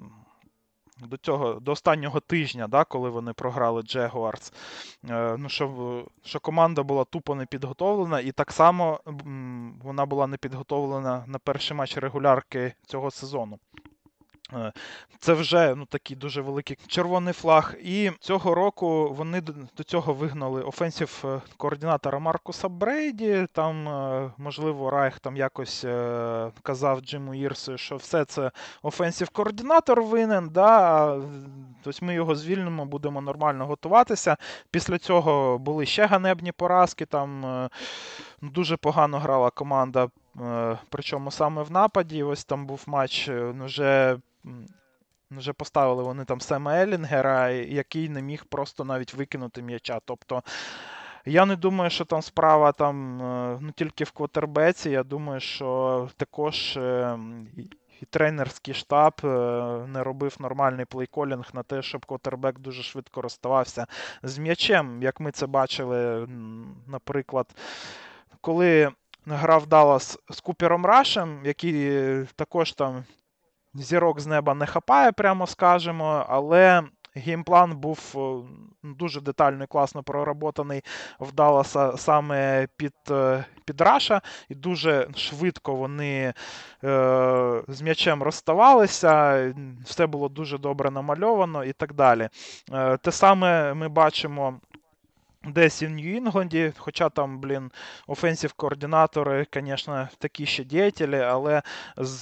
До цього, до останнього тижня, да, коли вони програли Джегуарс, е, ну, що, що команда була тупо не підготовлена, і так само м, вона була не підготовлена на перший матч регулярки цього сезону. Е, це вже, ну, такий дуже великий червоний флаг. І цього року вони до, до цього вигнали офенсів координатора Маркуса Брейді. Там, е, можливо, Райх там якось е, казав Джиму Ірсу, що все це офенсів координатор винен, да, тобто ми його звільнимо, будемо нормально готуватися. Після цього були ще ганебні поразки, там е, дуже погано грала команда, е, причому саме в нападі. Ось там був матч, ну, вже вже поставили вони там Сема Елінгера, який не міг просто навіть викинути м'яча. Тобто я не думаю, що там справа там, ну, тільки в квотербеці. Я думаю, що також і тренерський штаб не робив нормальний плейколінг на те, щоб квотербек дуже швидко розставався з м'ячем. Як ми це бачили, наприклад, коли грав Даллас з Купером Рашем, який також там зірок з неба не хапає, прямо скажемо, але геймплан був дуже детально і класно проработаний в Далласа саме під, під Раша, і дуже швидко вони е, з м'ячем розставалися, все було дуже добре намальовано і так далі. Е, те саме ми бачимо десь і в Нью-Інгланді, хоча там, блін, офенсів-координатори, звісно, такі ще діятелі, але з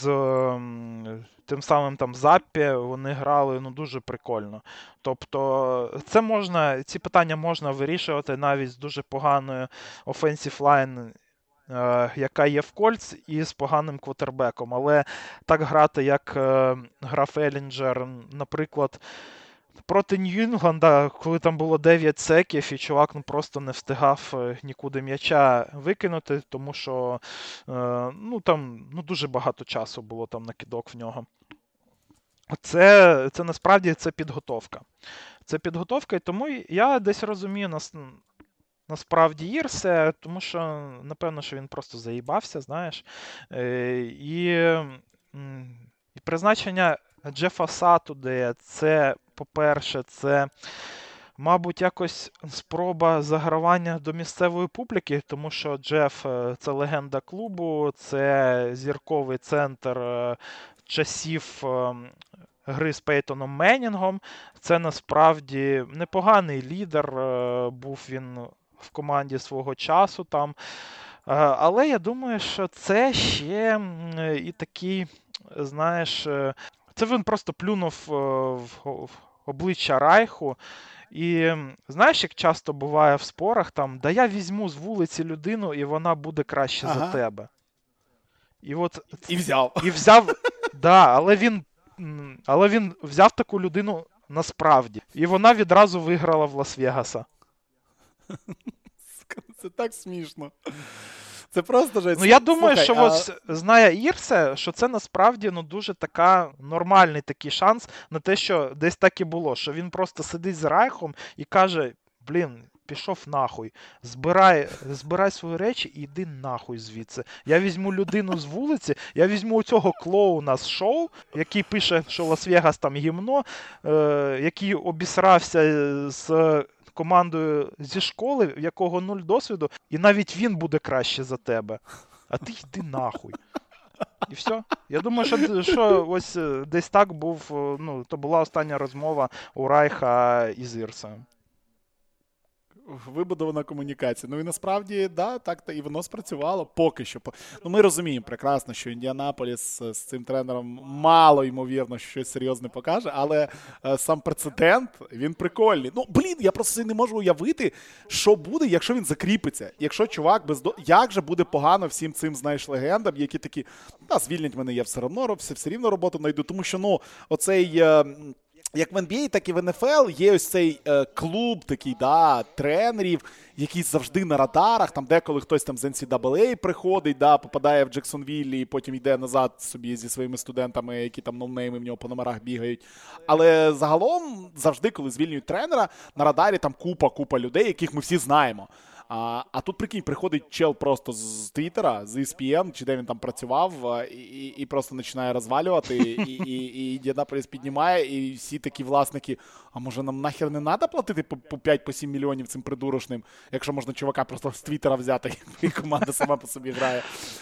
тим самим там Заппі вони грали, ну, дуже прикольно. Тобто це можна, ці питання можна вирішувати навіть з дуже поганою offensive line, е, яка є в Кольц, і з поганим квотербеком. Але так грати, як е, грав Елінджер, наприклад, проти Нью-Інгланда, коли там було дев'ять секів, і чувак ну, просто не встигав нікуди м'яча викинути, тому що е, ну, там ну, дуже багато часу було там на кидок в нього. Це, це насправді це підготовка. Це підготовка, і тому я десь розумію нас, насправді Ірсе, тому що, напевно, що він просто заїбався, знаєш. Е, і, і призначення Джефа Сатудея, це, по-перше, це, мабуть, якось спроба загравання до місцевої публіки, тому що Джеф – це легенда клубу, це зірковий центр часів гри з Пейтоном Меннінгом. Це, насправді, непоганий лідер, був він в команді свого часу там. Але я думаю, що це ще і такий, знаєш, це він просто плюнув в обличчя Райху. І знаєш, як часто буває в спорах, там, да я візьму з вулиці людину, і вона буде краще ага. за тебе. І от і взяв. І взяв, да, але він, але він взяв таку людину насправді. І вона відразу виграла в Лас-Вегаса. Це так смішно. Це просто жесть. Ну, я думаю, Слухай, що а... ось знає Ірсе, що це насправді ну, дуже така нормальний такий шанс на те, що десь так і було, що він просто сидить з Райхом і каже, блін, пішов нахуй, збирай, збирай свої речі і йди нахуй звідси. Я візьму людину з вулиці, я візьму цього клоуна з шоу, який пише, що Лас-Вегас там гімно, е- який обісрався з командою зі школи, в якого нуль досвіду, і навіть він буде краще за тебе. А ти йди нахуй. І все. Я думаю, що, що ось десь так був, ну, то була остання розмова у Райха із Ірсою. Вибудована комунікація. Ну і насправді, да, так і воно спрацювало поки що. Ну ми розуміємо прекрасно, що Індіанаполіс з цим тренером мало ймовірно щось серйозне покаже, але е, сам прецедент, він прикольний. Ну, блін, я просто не можу уявити, що буде, якщо він закріпиться. Якщо чувак без до... Як же буде погано всім цим, знаєш, легендам, які такі, та, звільнять мене, я все одно, все, все рівно роботу знайду, тому що, ну, оцей... Е... Як в ен бі ей, так і в ен еф ел є ось цей е, клуб такий, да, тренерів, який завжди на радарах, там деколи хтось там з ен сі ей ей приходить, да, попадає в Джексонвіллі і потім йде назад собі зі своїми студентами, які там ноунейми в нього по номерах бігають. Але загалом завжди, коли звільнюють тренера, на радарі там купа-купа людей, яких ми всі знаємо. А, а тут, прикинь, приходить чел просто з Твіттера, з і ес пі ен, чи де він там працював, і, і просто починає розвалювати, і, і, і Індіанаполіс піднімає, і всі такі власники, а може нам нахер не треба платити по, по п'ять-сім мільйонів цим придурочним, якщо можна чувака просто з Твіттера взяти, і команда сама по собі грає.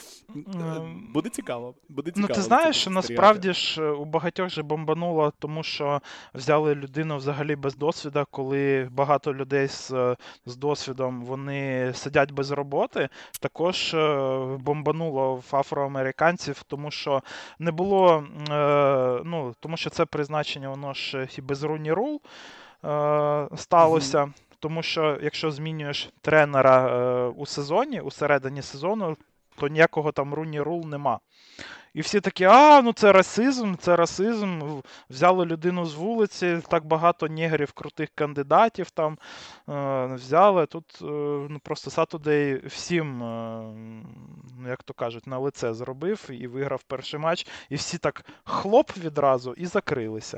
Буде цікаво. Буде цікаво. Ну, ти знаєш, що насправді ж у багатьох же бомбануло, тому що взяли людину взагалі без досвіду, коли багато людей з, з досвідом, вони сидять без роботи. Також бомбануло в афроамериканців, тому що не було, ну, тому що це призначення, воно ж і без Руні Рул сталося. Mm-hmm. Тому що якщо змінюєш тренера у сезоні, у середині сезону, то ніякого там Руні Рул нема. І всі такі, а, ну це расизм, це расизм. В- Взяли людину з вулиці, так багато негрів, крутих кандидатів там е, взяли. Тут е, ну, просто Saturday всім, е, ну, як то кажуть, на лице зробив і виграв перший матч. І всі так хлоп відразу і закрилися.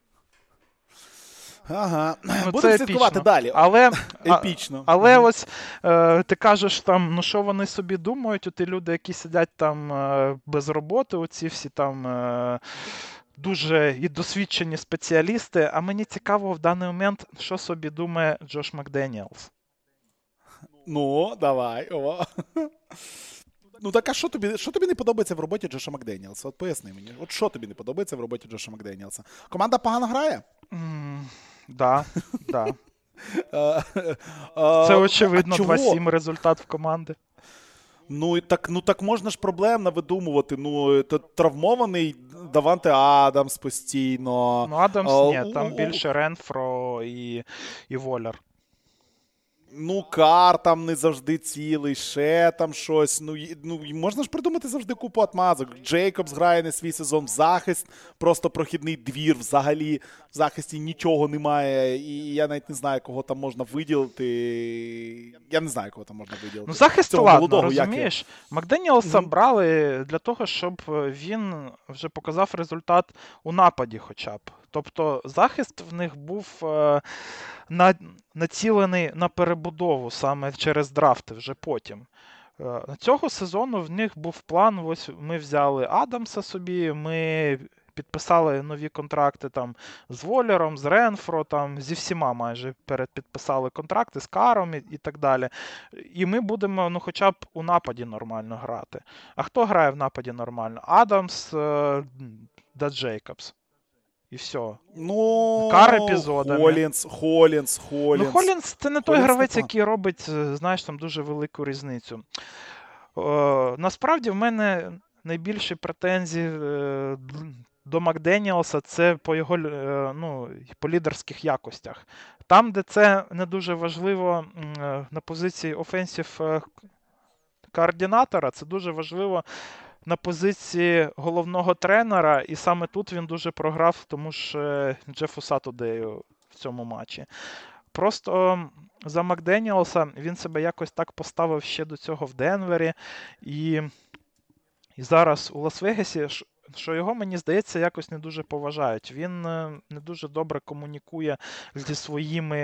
Ага. Ну, Будемо це слідкувати епічно. далі. Але, а, Епічно. але Мгм. ось е, ти кажеш там, ну що вони собі думають, ті люди, які сидять там е, без роботи, оці всі там е, дуже і досвідчені спеціалісти. А мені цікаво в даний момент, що собі думає Джош Макденіелс. Ну, давай. О. Ну так а що тобі, що тобі не подобається в роботі Джоша Макденіелса? От поясни мені. От що тобі не подобається в роботі Джоша Макденіелса? Команда погано грає? М, Да, да. Е, е, Це а очевидно чого? два сім результат в команди. Ну і так, ну так можна ж проблемно видумувати. Ну, то травмований Даванте Адамс постійно. Ну, Адамс А, ні, у- там у- більше Ренфро і, і Воляр. Ну, Кар там не завжди цілий, ще там щось. Ну, і- ну і можна ж придумати завжди купу отмазок. Джейкобс грає не свій сезон в захист, просто прохідний двір взагалі. В захисті нічого немає. І я навіть не знаю, кого там можна виділити. Я не знаю, кого там можна виділити. Ну, захист, Цього ладно, молодого, як його? розумієш. Макденіелса Мгм. брали для того, щоб він вже показав результат у нападі хоча б. Тобто захист в них був е, на, націлений на перебудову саме через драфти вже потім. Е, Цього сезону в них був план, ось ми взяли Адамса собі, ми підписали нові контракти там з Волером, з Ренфро, там зі всіма майже передпідписали контракти, з Каром і, і так далі. І ми будемо, ну, хоча б у нападі нормально грати. А хто грає в нападі нормально? Адамс е, да Джейкобс. І все. Ну, Кар епізодами. Холінс, Холінс, Холінс. Ну, Холінс це не той Холінс гравець, непогано. який робить, е, знаєш, там дуже велику різницю. Е, насправді в мене найбільші претензії е, до Макденіелса це по його е, ну, по лідерських якостях. Там, де це не дуже важливо м, е, на позиції офенсів е, координатора, це дуже важливо на позиції головного тренера, і саме тут він дуже програв тому ж е, Джефу Сатудею в цьому матчі. Просто за Макденіелса він себе якось так поставив ще до цього в Денвері, і, і зараз у Лас-Вегасі, ш- що його, мені здається, якось не дуже поважають. Він е, не дуже добре комунікує зі своїми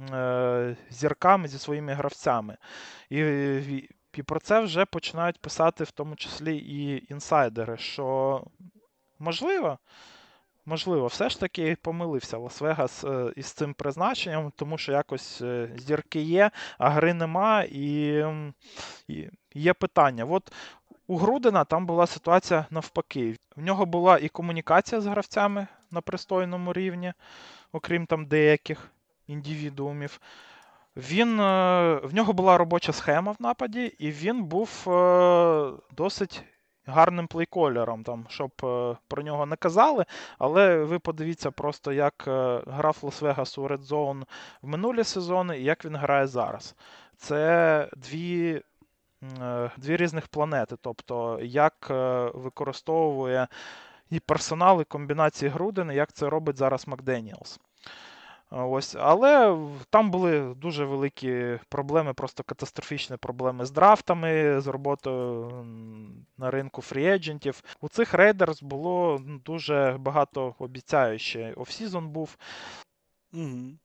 е, зірками, зі своїми гравцями. І, і, і про це вже починають писати в тому числі і інсайдери, що можливо, Можливо, все ж таки помилився Лас-Вегас е, із цим призначенням, тому що якось е, зірки є, а гри нема, і, м, і є питання. От у Грудена там була ситуація навпаки. В нього була і комунікація з гравцями на пристойному рівні, окрім там деяких індивідуумів. Він, е, в нього була робоча схема в нападі, і він був е, досить гарним плейколером, там, щоб е, про нього не казали. Але ви подивіться просто, як е, грав Лас-Вегас у Red Zone в минулі сезони і як він грає зараз. Це дві, е, дві різних планети. Тобто, як е, використовує і персонал, і комбінації Грудена, як це робить зараз Макденіелс. Ось, але в- там були дуже великі проблеми, просто катастрофічні проблеми з драфтами, з роботою м, на ринку фрі-еджентів. У цих рейдерс було ну, дуже багато обіцяюче. Офсізон був. Мгм.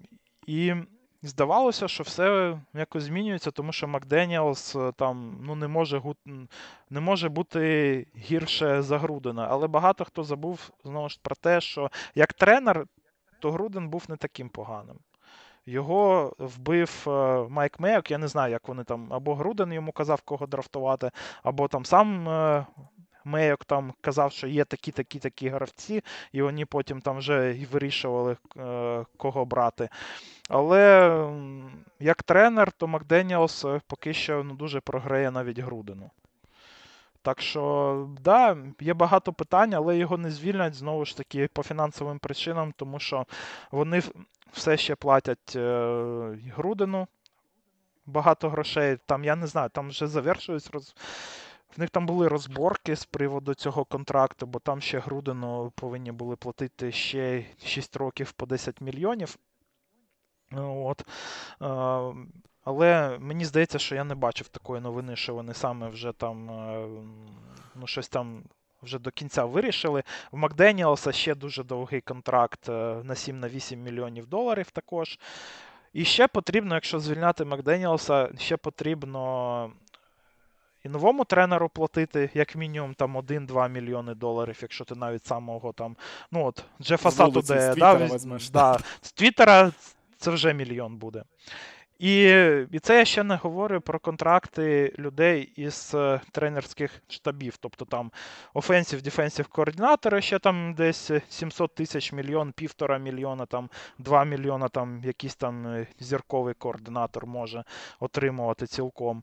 І здавалося, що все якось змінюється, тому що Макденіелс е, там ну, не може, гу- м, не може бути гірше за Грудена. Але багато хто забув знову ж про те, що як тренер, то Груден був не таким поганим. Його вбив е, Майк Мейок, я не знаю, як вони там, або Груден йому казав, кого драфтувати, або там сам е, Мейок там казав, що є такі-такі-такі гравці, і вони потім там вже і вирішували, е, кого брати. Але м, як тренер, то Макденіелс е, поки що ну, дуже програє навіть Грудену. Так що, да, є багато питань, але його не звільнять, знову ж таки, по фінансовим причинам, тому що вони в- все ще платять е, Грудену багато грошей. Там, я не знаю, там вже завершують роз... в них там були розборки з приводу цього контракту, бо там ще Грудену повинні були платити ще шість років по десять мільйонів. От. Але мені здається, що я не бачив такої новини, що вони саме вже там, ну, щось там вже до кінця вирішили. В Макденіелса ще дуже довгий контракт на сім-вісім мільйонів доларів також. І ще потрібно, якщо звільняти Макденіелса, ще потрібно і новому тренеру платити, як мінімум, там один-два мільйони доларів, якщо ти навіть самого там, ну от, Джефа Сату, де, да, візьмеш, да, з Твіттера це вже мільйон буде. І, і це я ще не говорю про контракти людей із е, тренерських штабів. Тобто там офенсів, дефенсів координатори ще там десь сімсот тисяч, мільйон, півтора мільйона, там два мільйона там якийсь там зірковий координатор може отримувати цілком.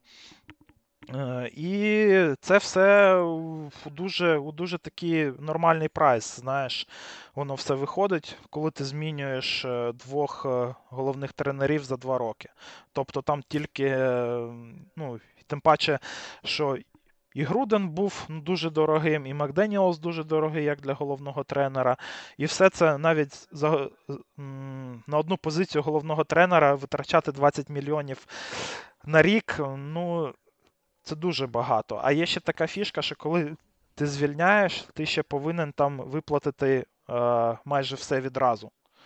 І це все у дуже, у дуже такий нормальний прайс, знаєш, воно все виходить, коли ти змінюєш двох головних тренерів за два роки. Тобто там тільки, ну, тим паче, що і Груден був дуже дорогим, і Макденіелс дуже дорогий, як для головного тренера. І все це навіть за, на одну позицію головного тренера витрачати двадцять мільйонів на рік, ну, це дуже багато. А є ще така фішка, що коли ти звільняєш, ти ще повинен там виплатити е, майже все відразу.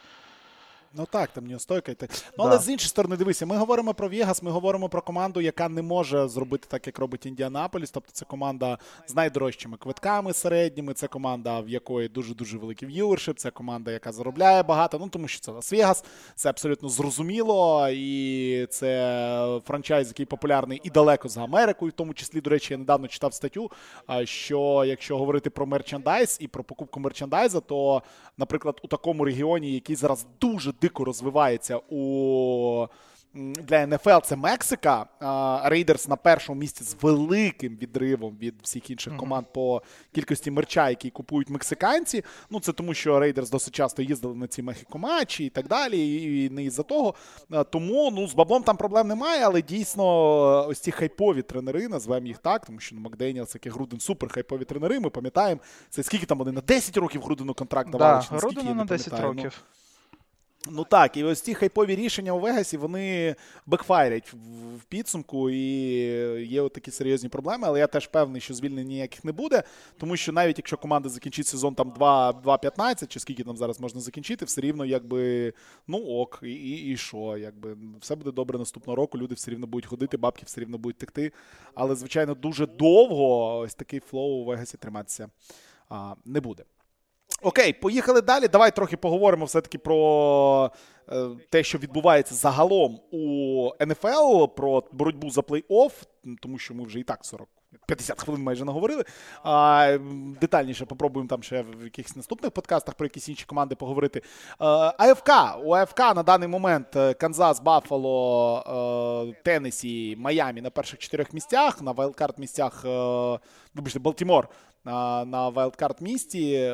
Ну так, там неостойка. Ну, да. Але з іншої сторони, дивися, ми говоримо про Вегас, ми говоримо про команду, яка не може зробити так, як робить Індіанаполіс. Тобто це команда з найдорожчими квитками середніми, це команда, в якої дуже-дуже великий в'ювершип, це команда, яка заробляє багато, ну тому що це Лас-Вегас, це абсолютно зрозуміло, і це франчайз, який популярний і далеко за Америкою, в тому числі, до речі, я недавно читав статтю, що якщо говорити про мерчендайз і про покупку мерчендайза, то, наприклад, у такому регіоні, який зараз дуже дико розвивається у для ен еф ел, це Мексика. Рейдерс на першому місці з великим відривом від всіх інших mm-hmm. команд по кількості мерча, які купують мексиканці. Ну, це тому, що Рейдерс досить часто їздили на ці Мехіко-матчі і так далі, і не із-за того. Тому, ну, з баблом там проблем немає, але дійсно ось ці хайпові тренери, назвемо їх так, тому що ну, Макденіелс, як і Груден, супер хайпові тренери, ми пам'ятаємо, це скільки там вони на десять років Грудену контракт давали? Да, Грудену на десять років. Ну, Ну так, і ось ці хайпові рішення у Вегасі, вони бекфайрять в підсумку, і є от такі серйозні проблеми, але я теж певний, що звільнень ніяких не буде, тому що навіть якщо команда закінчить сезон там два п'ятнадцять, чи скільки там зараз можна закінчити, все рівно якби, ну ок, і, і, і що, якби, все буде добре наступного року, люди все рівно будуть ходити, бабки все рівно будуть текти, але, звичайно, дуже довго ось такий флоу у Вегасі триматися а, не буде. Окей, поїхали далі. Давай трохи поговоримо все-таки про е, те, що відбувається загалом у ен еф ел, про боротьбу за плей-офф, тому що ми вже і так сорок п'ятдесят хвилин майже наговорили. А, детальніше попробуємо там ще в якихось наступних подкастах про якісь інші команди поговорити. А, АФК. У АФК на даний момент Канзас, Баффало, Теннессі, Майамі на перших чотирьох місцях, на вайлдкарт місцях, вибачте, Балтімор на вайлдкарт місці,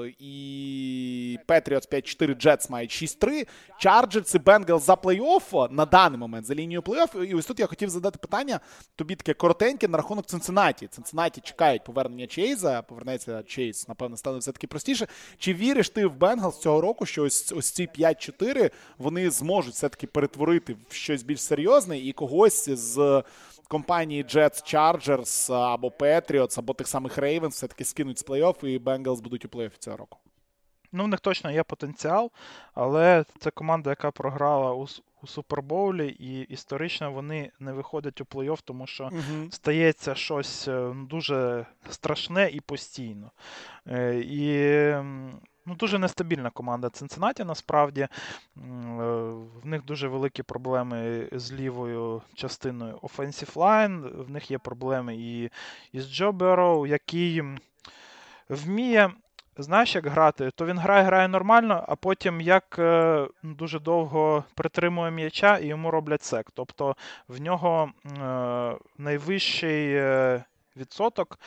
і Петріотс п'ять чотири, Джетс мають шість три, Чарджерс і Бенгалс за плей-офф на даний момент, за лінією плей-офф. І ось тут я хотів задати питання, тобі таке коротеньке на рахунок Цинциннаті. Цинциннаті чекають повернення Чейза, повернеться Чейз, напевно, стане все-таки простіше. Чи віриш ти в Бенгалс цього року, що ось, ось ці п'ять чотири вони зможуть все-таки перетворити в щось більш серйозне і когось з компанії Jets, Chargers або Patriots, або тих самих Ravens все-таки скинуть з плей-офф і Bengals будуть у плей-оффі цього року? Ну, в них точно є потенціал, але це команда, яка програла у, у Супербоулі, і історично вони не виходять у плей-офф, тому що uh-huh. стається щось дуже страшне і постійно. І ну, дуже нестабільна команда Цинциннаті, насправді. В них дуже великі проблеми з лівою частиною offensive line, в них є проблеми і, і з Джо Берроу, який вміє, знаєш, як грати, то він грає, грає нормально, а потім як е, дуже довго притримує м'яча і йому роблять сек. Тобто в нього е, найвищий е, відсоток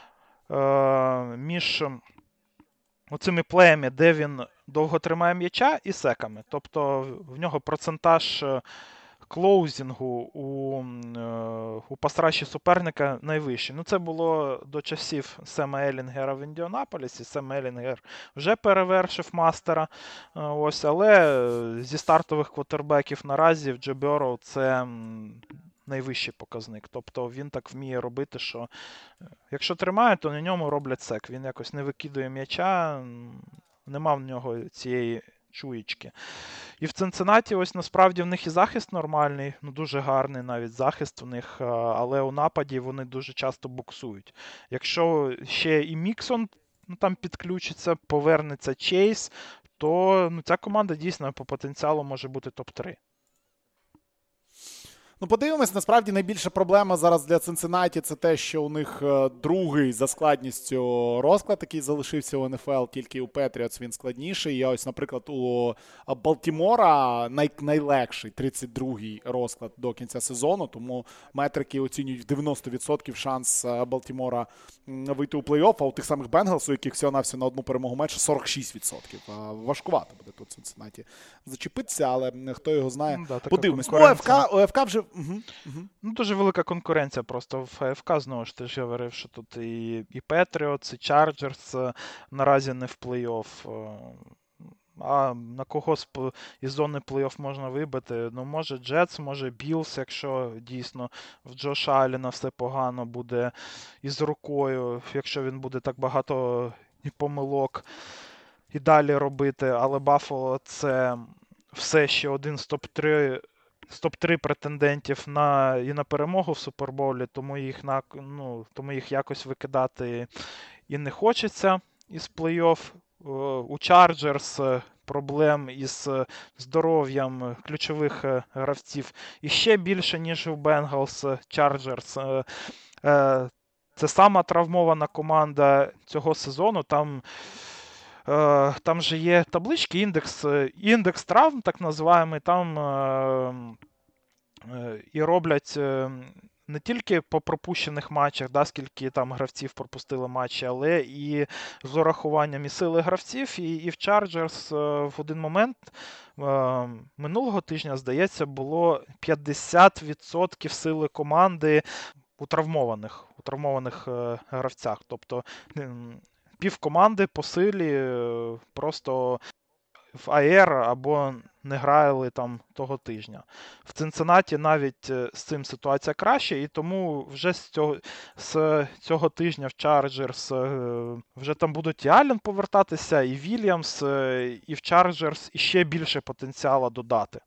е, між оцими плеями, де він довго тримає м'яча, і секами. Тобто в нього процентаж клоузінгу у, у пасраші суперника найвищий. Ну, це було до часів Сема Елінгера в Індіанаполісі. Сем Елінгер вже перевершив мастера. Ось, але зі стартових квотербеків наразі в Джо Бьорроу це найвищий показник. Тобто він так вміє робити, що якщо тримає, то на ньому роблять сек. Він якось не викидує м'яча, нема в нього цієї чуєчки. І в Цинциннаті ось насправді в них і захист нормальний, ну дуже гарний навіть захист у них, але у нападі вони дуже часто буксують. Якщо ще і Міксон ну, там підключиться, повернеться Чейз, то ну, ця команда дійсно по потенціалу може бути топ три. Ну, подивимось, насправді найбільша проблема зараз для Цинциннаті – це те, що у них другий за складністю розклад, який залишився у ен еф ел, тільки у Петріотс він складніший. І ось, наприклад, у Балтімора най- найлегший тридцять другий розклад до кінця сезону, тому метрики оцінюють в дев'яносто відсотків шанс Балтімора вийти у плей-офф, а у тих самих Бенгалс, у яких всього-навсього на одну перемогу менше, сорок шість відсотків. Важкувато буде тут Цинциннаті зачепитися, але хто його знає. Да, подивимось. Ну, ОФК, ОФК вже... Угу, угу. Ну, дуже велика конкуренція просто в АФК, знову ж ти ж говорив, що тут і, і Patriots, і Chargers наразі не в плей-офф. А на кого з із зони плей-офф можна вибити? Ну, може Jets, може Bills, якщо дійсно в Джоша Аллена все погано буде із рукою, якщо він буде так багато і помилок і далі робити. Але Buffalo – це все ще один з топ три з топ три претендентів на, і на перемогу в Супербоулі, тому їх, на, ну, тому їх якось викидати і не хочеться із плей-офф. У Чарджерс проблем із здоров'ям ключових гравців і ще більше, ніж у Бенгалс. Чарджерс це сама травмована команда цього сезону. Там Там же є таблички, індекс, індекс травм, так називаємо, там е, е, і роблять е, не тільки по пропущених матчах, да, скільки там гравців пропустили матчі, але і з урахуванням і сили гравців, і, і в Chargers е, в один момент е, минулого тижня, здається, було п'ятдесят відсотків сили команди у травмованих, у травмованих е, гравцях. Тобто пів команди по силі просто в АР або не грали там того тижня. В Цинциннаті навіть з цим ситуація краще, і тому вже з цього, з цього тижня в Чарджерс вже там будуть і Аллен повертатися, і Вільямс, і в Чарджерс іще більше потенціалу додати.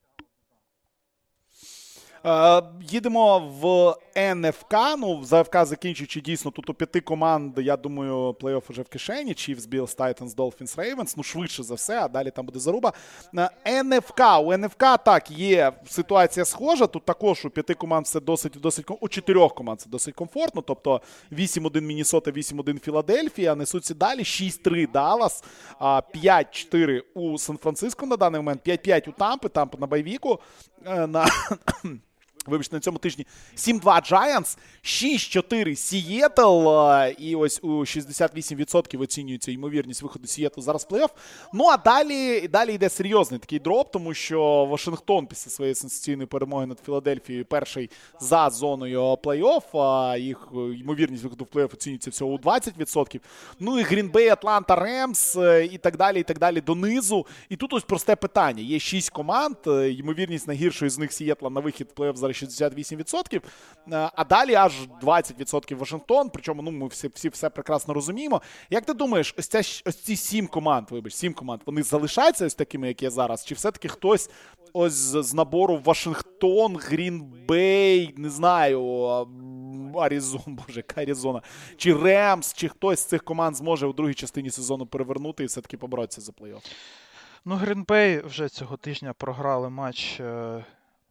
Е, їдемо в ен еф ка. Ну, за АФК закінчуючи, дійсно, тут у п'яти команд, я думаю, плей-офф вже в кишені. Chiefs, Bills, Titans, Dolphins, Ravens. Ну, швидше за все, а далі там буде заруба. ен еф ка. У ен еф ка, так, є ситуація схожа. Тут також у п'яти команд все досить, досить, у чотирьох команд це досить комфортно. Тобто вісім один Міннесота, вісім один Філадельфія. Несуться далі. шість три Даллас, п'ять чотири у Сан-Франциско на даний момент, п'ять п'ять у Тампи, Тампа на байвіку. На... Вибачте, на цьому тижні сім два Giants, шість чотири Сієтл, і ось у шістдесят вісім відсотків оцінюється ймовірність виходу Сієтлу зараз в плей-офф. Ну, а далі, далі йде серйозний такий дроп, тому що Вашингтон після своєї сенсаційної перемоги над Філадельфією перший за зоною плей-офф, а їх ймовірність виходу в плей-офф оцінюється всього у двадцять відсотків. Ну і Грін-Бей, Атланта, Ремс і так далі, і так далі донизу. І тут ось просте питання. Є шість команд, ймовірність найгіршої з них Сієтла на вихід в плей-офф зараз шістдесят вісім відсотків, а далі аж двадцять відсотків Вашингтон, причому ну, ми всі, всі все прекрасно розуміємо. Як ти думаєш, ось, ця, ось ці сім команд, вибач, сім команд, вони залишаються ось такими, як є зараз? Чи все-таки хтось ось з набору Вашингтон, Грін-Бей, не знаю, Аризона, боже, яка Аризона, чи Ремс, чи хтось з цих команд зможе у другій частині сезону перевернути і все-таки поборотися за плей-офф? Ну, Грін-Бей вже цього тижня програли матч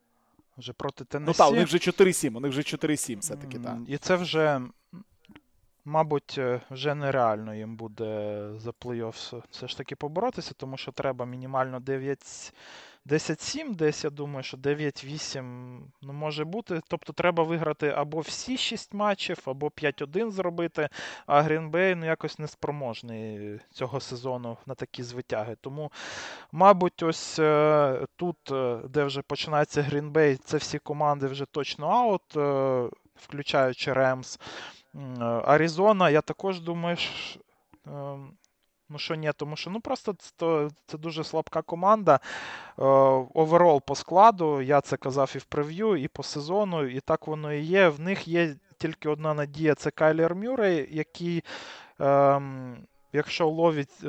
вже проти Теннессі. Ну так, у них вже чотири сім, у них вже чотири сім все-таки, так. І це вже мабуть, е, вже нереально їм буде за плей-офф все ж таки поборотися, тому що треба мінімально дев'ять десять сім десь, я думаю, що дев'ять вісім ну, може бути. Тобто треба виграти або всі шість матчів, або п'ять один зробити, а Green Bay ну, якось неспроможний цього сезону на такі звитяги. Тому, мабуть, ось е, тут, е, де вже починається Green Bay, це всі команди вже точно аут, е, включаючи Ремс. Аризона, я також думаю, що, е, ну що ні, тому що ну просто це, це дуже слабка команда. Оверол по складу, я це казав і в прев'ю, і по сезону, і так воно і є. В них є тільки одна надія, це Кайлер Мюррей, який, ем, якщо ловить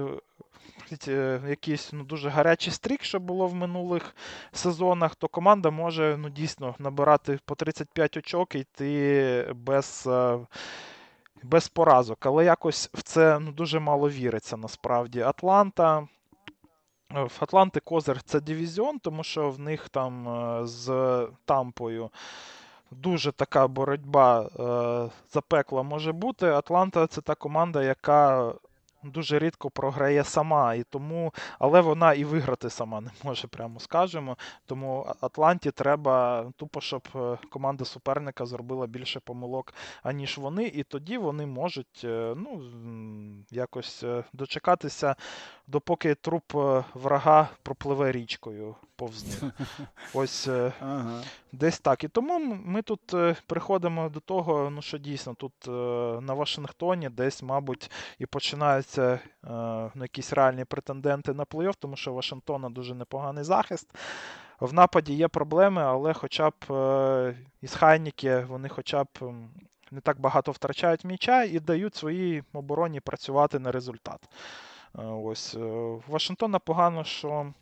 е, якийсь ну, дуже гарячий стрік, що було в минулих сезонах, то команда може ну, дійсно набирати по тридцять п'ять очок і йти без... Е, без поразок, але якось в це ну, дуже мало віриться насправді. Атланта, в Атланти козир це дивізіон, тому що в них там е, з Тампою дуже така боротьба е, запекла може бути. Атланта це та команда, яка дуже рідко програє сама, і тому, але вона і виграти сама не може, прямо скажемо. Тому Атланті треба тупо, щоб команда суперника зробила більше помилок, аніж вони, і тоді вони можуть ну, якось дочекатися, допоки труп врага пропливе річкою повз них. Ось ага. Десь так. І тому ми тут приходимо до того, ну що дійсно тут на Вашингтоні десь, мабуть, і починаються ну, якісь реальні претенденти на плей-офф, тому що у Вашингтона дуже непоганий захист. В нападі є проблеми, але хоча б із Хайніки вони хоча б не так багато втрачають м'яча і дають своїй обороні працювати на результат. Ось. В Вашингтона погано, що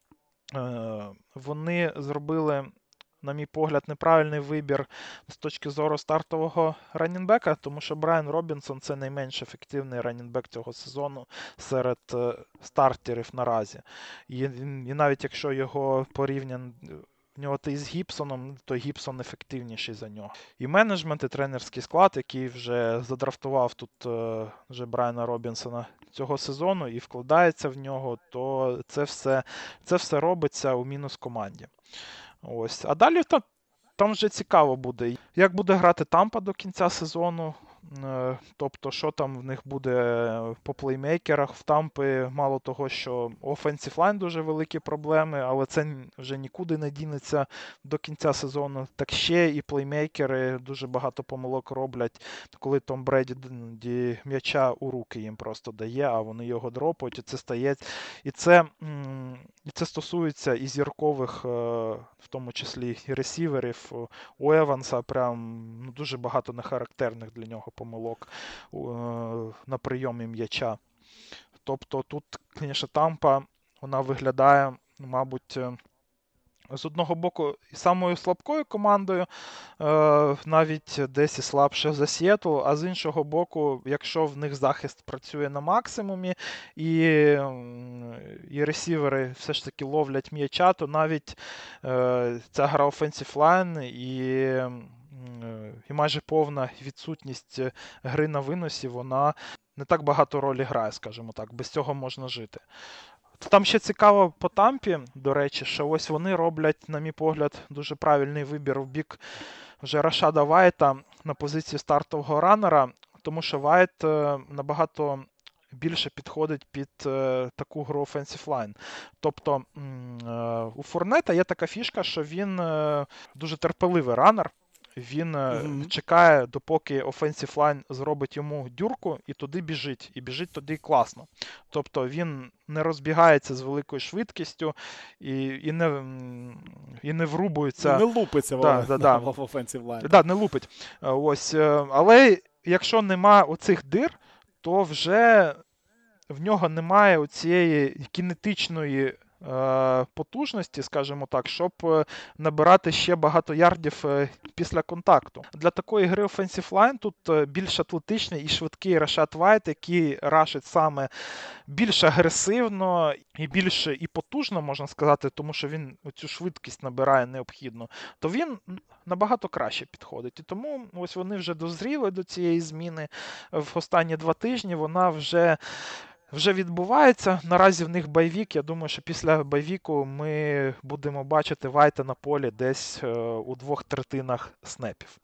вони зробили, на мій погляд, неправильний вибір з точки зору стартового раннінбека, тому що Брайан Робінсон – це найменш ефективний раннінбек цього сезону серед стартерів наразі. І, і навіть якщо його порівняно в нього ти з Гібсоном, то Гібсон ефективніший за нього. І менеджмент, і тренерський склад, який вже задрафтував тут вже Брайана Робінсона цього сезону і вкладається в нього, то це все, це все робиться у мінус команді. Ось. А далі там, там вже цікаво буде, як буде грати Тампа до кінця сезону. Тобто, що там в них буде по плеймейкерах. В Тампи мало того, що offensive line дуже великі проблеми, але це вже нікуди не дінеться до кінця сезону. Так ще і плеймейкери дуже багато помилок роблять, коли Том Бреді м'яча у руки їм просто дає, а вони його дропають, і це стає. І це, і це стосується і зіркових, в тому числі і ресіверів. У Еванса прям ну, дуже багато нехарактерних для нього помилок е, на прийомі м'яча. Тобто тут, звісно, Тампа, вона виглядає, мабуть, з одного боку самою слабкою командою, е, навіть десь і слабше за Сіетл, а з іншого боку, якщо в них захист працює на максимумі і, і ресівери все ж таки ловлять м'яча, то навіть е, ця гра offensive line і і майже повна відсутність гри на виносі, вона не так багато ролі грає, скажімо так, без цього можна жити. Там ще цікаво по Тампі, до речі, що ось вони роблять, на мій погляд, дуже правильний вибір в бік вже Рашада Вайта на позиції стартового раннера, тому що Вайт набагато більше підходить під е, таку гру offensive line. Тобто е, у Фурнета є така фішка, що він е, дуже терпеливий раннер. Він mm-hmm. чекає, допоки offensive line зробить йому дюрку, і туди біжить. І біжить туди класно. Тобто він не розбігається з великою швидкістю і, і, не, і не врубується. Не лупиться да, в, да, да. в offensive line. Да, не лупить. Ось. Але якщо нема оцих дир, то вже в нього немає оцієї кінетичної е, потужності, скажімо так, щоб е, набирати ще багато ярдів е, після контакту. Для такої гри Offensive Line тут е, більш атлетичний і швидкий Рашад Вайт, який рашить саме більш агресивно і більш і потужно, можна сказати, тому що він цю швидкість набирає необхідну, то він набагато краще підходить. І тому ось вони вже дозріли до цієї зміни в останні два тижні. Вона вже вже відбувається. Наразі в них байвік. Я думаю, що після байвіку ми будемо бачити Вайта на полі десь е, у двох третинах снепів.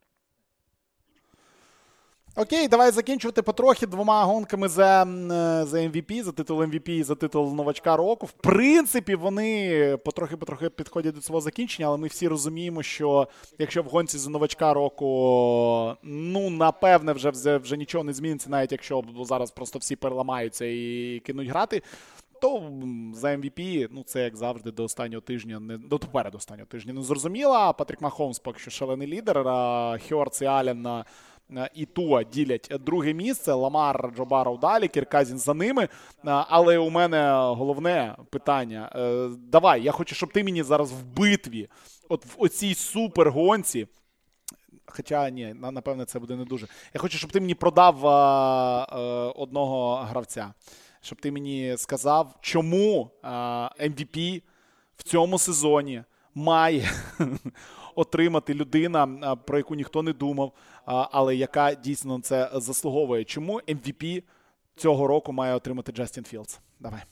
Окей, давай закінчувати потрохи двома гонками за, за ем ві пі, за титул ем ві пі і за титул новачка року. В принципі, вони потрохи-потрохи підходять до свого закінчення, але ми всі розуміємо, що якщо в гонці за новачка року, ну, напевне, вже, вже, вже нічого не зміниться, навіть якщо зараз просто всі переламаються і кинуть грати, то за ем ві пі, ну, це, як завжди, до останнього тижня, не, до попереду останнього тижня не зрозуміло. Патрік Махомс поки що шалений лідер, а Хьорц і Аллен і Туа ділять друге місце, Ламар, Джо Барроу далі, Кірк-Казінс за ними. Але у мене головне питання. Давай, я хочу, щоб ти мені зараз в битві, от в оцій супергонці, хоча, ні, напевне, це буде не дуже. Я хочу, щоб ти мені продав а, а, одного гравця. Щоб ти мені сказав, чому а, ем ві пі в цьому сезоні має отримати людина, про яку ніхто не думав, але яка дійсно це заслуговує. Чому ем ві пі цього року має отримати Джастін Філдс? Давай.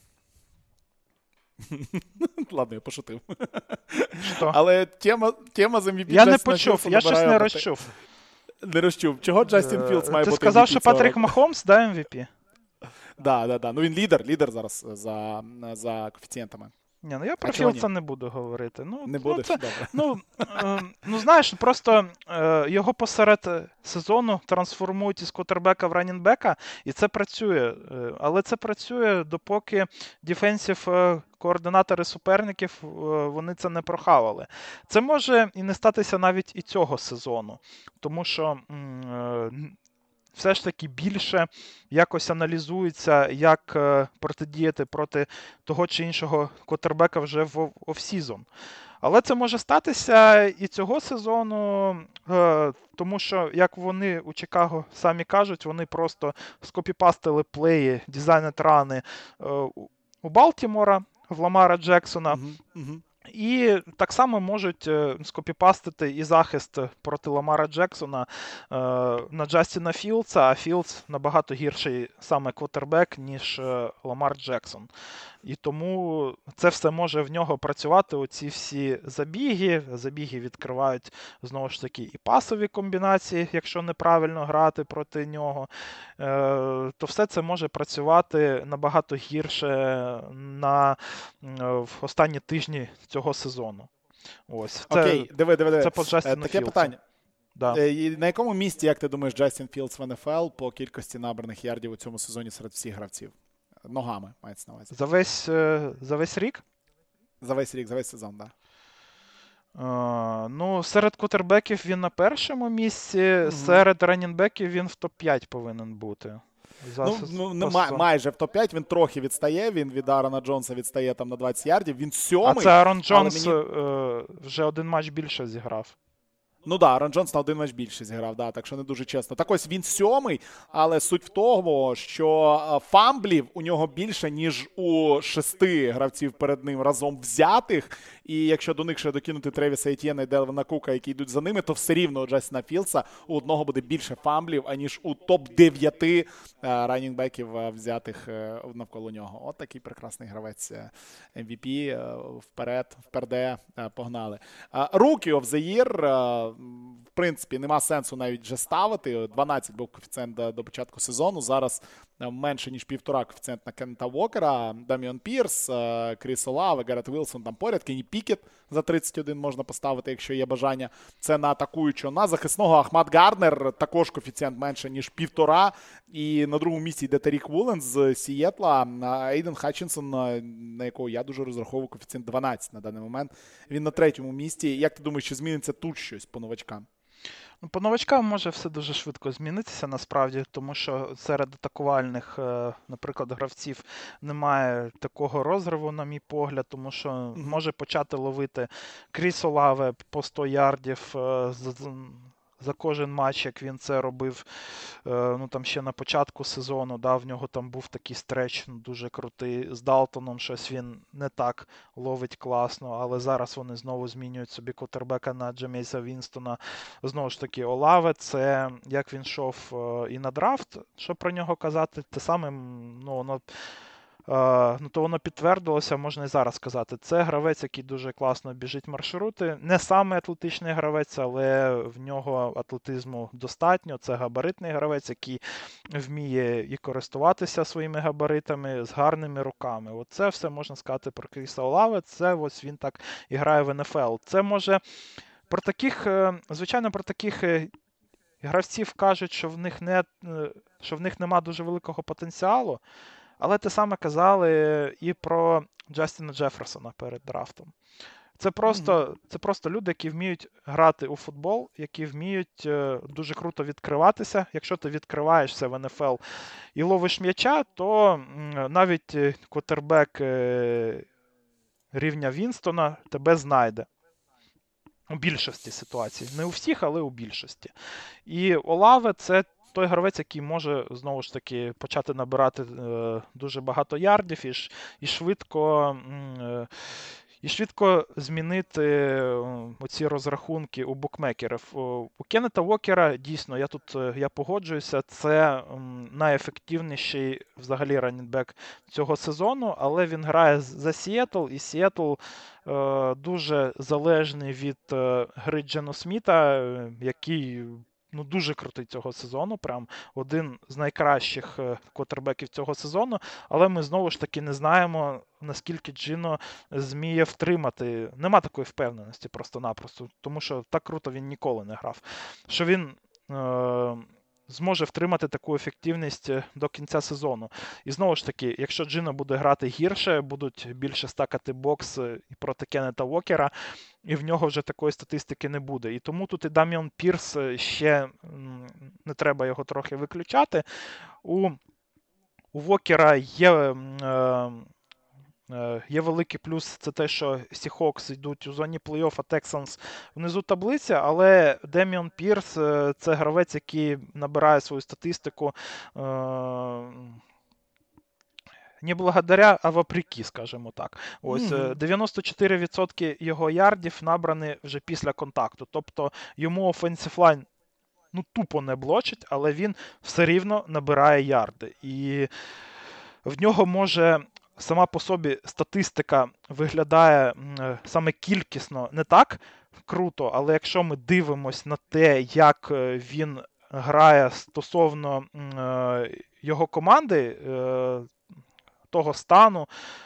Ладно, я пошутив. Що? Але тема, тема з ем ві пі... Я не почув, я щось не розчув. Не розчув. Чого Джастін Філдс має Ти бути сказав, ем ві пі що цього Патрік року? Махомс, да, ем ві пі? Да, да, да. Ну він лідер, лідер зараз за, за коефіцієнтами. Ні, ну я про А чого Філдса ні? не буду говорити. Ну, Не ну, будеш? це, Добре. ну, е, ну, знаєш, просто е, його посеред сезону трансформують із квотербека в раннінбека, і це працює. Е, але це працює, допоки дефенсів е, координатори суперників, е, вони це не прохавали. Це може і не статися навіть і цього сезону, тому що м, е, все ж таки більше якось аналізується, як е, протидіяти проти того чи іншого квотербека вже в офсізон. Але це може статися і цього сезону, е, тому що, як вони у Чикаго самі кажуть, вони просто скопіпастили плеї, дизайнет рани е, у Балтімора, в Ламара Джексона. Угу, угу. І так само можуть скопіпастити і захист проти Ламара Джексона е, на Джастіна Філдса, а Філдс набагато гірший саме квотербек, ніж Ламар Джексон. І тому це все може в нього працювати, оці всі забіги. Забіги відкривають, знову ж таки, і пасові комбінації, якщо неправильно грати проти нього. Е, то все це може працювати набагато гірше на, в останні тижні цього сезону. Ось. Це, Окей, диви, диви, диви. Це по Джастіну Таке Філдсу. питання. Да. На якому місці, як ти думаєш, Джастін Філдс в ен еф ел по кількості набраних ярдів у цьому сезоні серед всіх гравців? Ногами, мається на увазі. За весь, за весь рік? За весь рік, за весь сезон, так. Да. Uh, ну, серед квотербеків він на першому місці, mm-hmm. серед раннінбеків він в топ п'ять повинен бути. За ну, сез... ну не, май, майже в топ п'ять, він трохи відстає, він від Аарона Джонса відстає там на двадцять ярдів, він сьомий. А це Аарон Джонс мені... uh, вже один матч більше зіграв. Ну так, да, Аарон Джонс на один матч більше зіграв, да, так що не дуже чесно. Так ось він сьомий, але суть в тому, що фамблів у нього більше, ніж у шести гравців перед ним разом взятих. І якщо до них ще докинути Тревіса Етьєна і Делвіна Кука, які йдуть за ними, то все рівно у Джастіна Філдса у одного буде більше фамблів, аніж у топ дев'ять раннінгбеків взятих навколо нього. От такий прекрасний гравець ем ві пі. Вперед, вперде, погнали. Rookie of the Year, в принципі, нема сенсу навіть вже ставити. дванадцять був коефіцієнт до, до початку сезону. Зараз менше, ніж півтора коефіцієнт на Кента Уокера. Даміон Пірс, Кріс Олаве, Гарет Вілсон там поряд. Кенні Пікет за тридцять один можна поставити, якщо є бажання. Це на атакуючого. На захисного Ахмад Гарднер, також коефіцієнт менше, ніж півтора. І на другому місці йде Тарік Вулен з Сієтла. Ейден Хатчинсон, на якого я дуже розраховую, коефіцієнт дванадцять на даний момент. Він на третьому місці. Як ти думаєш, чи зміниться тут щось по новачкам? Ну, по новачкам може все дуже швидко змінитися насправді, тому що серед атакувальних, е, наприклад, гравців немає такого розриву, на мій погляд, тому що Мгм. може почати ловити Кріс Олаве по сто ярдів е, з- з- за кожен матч, як він це робив е, ну, там ще на початку сезону. Да, в нього там був такий стреч ну, дуже крутий. З Далтоном щось він не так ловить класно, але зараз вони знову змінюють собі квотербека на Джемейса Вінстона. Знову ж таки, Олаве, це як він йшов е, і на драфт, що про нього казати, те саме, м, ну, воно, е, ну, то воно підтвердилося, можна і зараз сказати. Це гравець, який дуже класно біжить маршрути. Не саме атлетичний гравець, але в нього атлетизму достатньо. Це габаритний гравець, який вміє і користуватися своїми габаритами з гарними руками. Оце все можна сказати про Кріса Олаве. Це ось він так і грає в ен еф ел. Це може про таких, е, звичайно, про таких е, гравців кажуть, що в них не, е, що в них нема дуже великого потенціалу, але те саме казали і про Джастіна Джеферсона перед драфтом. Це Мгм. просто, це просто люди, які вміють грати у футбол, які вміють е, дуже круто відкриватися. Якщо ти відкриваєшся в ен еф ел і ловиш м'яча, то м, навіть е, квотербек е, рівня Вінстона тебе знайде. У більшості ситуацій. Не у всіх, але у більшості. І Олаве це той гравець, який може, знову ж таки, почати набирати е, дуже багато ярдів і, ш, і швидко. Е, і швидко змінити е, оці розрахунки у букмекерів. У Кеннета Уокера, дійсно, я тут е, я погоджуюся, це м, найефективніший взагалі раннінбек цього сезону, але він грає за Сіетл, і Сіетл е, дуже залежний від е, гри Джено Сміта, е, який ну, дуже крутий цього сезону, прям один з найкращих е, квотербеків цього сезону, але ми знову ж таки не знаємо, наскільки Джино зміє втримати. Нема такої впевненості просто-напросто, тому що так круто він ніколи не грав. Що він е- зможе втримати таку ефективність до кінця сезону. І знову ж таки, якщо Джино буде грати гірше, будуть більше стакати бокс і проти Кеннета Уокера, і в нього вже такої статистики не буде. І тому тут і Даміон Пірс ще не треба його трохи виключати. У у Вокера є е, Є великий плюс, це те, що Seahawks йдуть у зоні плей-офф, а Texans внизу таблиці, але Деміон Пірс – це гравець, який набирає свою статистику не благодаря, а вопреки, скажімо так. Ось Мгм. дев'яносто чотири відсотки його ярдів набрані вже після контакту. Тобто йому offensive line ну, тупо не блочить, але він все рівно набирає ярди. І в нього може сама по собі статистика виглядає саме кількісно не так круто, але якщо ми дивимось на те, як він грає стосовно його команди, того стану,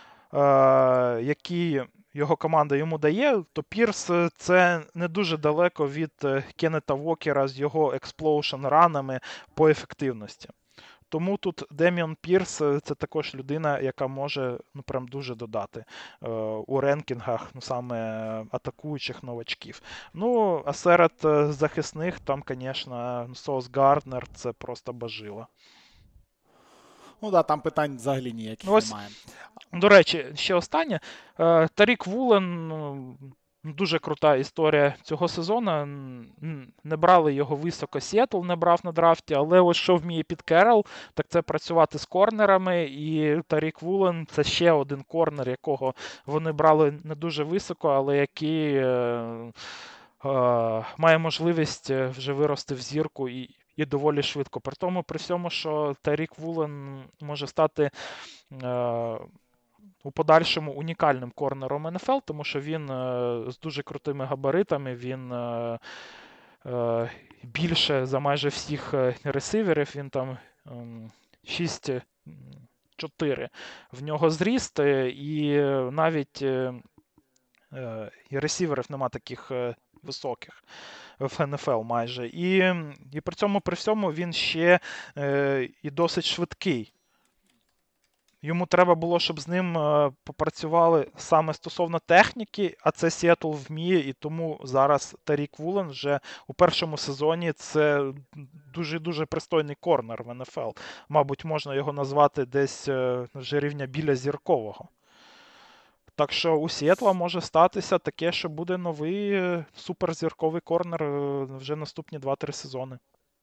який його команда йому дає, то Пірс це не дуже далеко від Кеннета Вокера з його експлоушн ранами по ефективності. Тому тут Деміон Пірс це також людина, яка може ну прям дуже додати е, у ренкінгах, ну саме атакуючих новачків. Ну, а серед захисних там, звісно, Сос Гарднер це просто бажила. Ну да, там питань взагалі Ну, ніяких ось, немає. до речі, ще останнє. Е, Тарік Вулен, ну, дуже крута історія цього сезону. Не брали його високо, Сіетл не брав на драфті, але ось що вміє Піт Керрол, так це працювати з корнерами, і Тарік Вулен це ще один корнер, якого вони брали не дуже високо, але який е, е, має можливість вже вирости в зірку і, і доволі швидко. При тому, при всьому, що Тарік Вулен може стати е, у подальшому унікальним корнером ен еф ел, тому що він е, з дуже крутими габаритами, він е, е, більше за майже всіх ресиверів, він там е, шість чотири в нього зріст, і навіть е, і ресіверів нема таких е, високих в ен еф ел майже. І, і при цьому при всьому він ще е, і досить швидкий. Йому треба було, щоб з ним е, попрацювали саме стосовно техніки, а це Сіетл вміє, і тому зараз Тарік Вулен вже у першому сезоні це дуже-дуже пристойний корнер в ен еф ел. Мабуть, можна його назвати десь е, вже рівня біля зіркового. Так що у Сіетла може статися таке, що буде новий е, суперзірковий корнер е, вже наступні два-три сезони.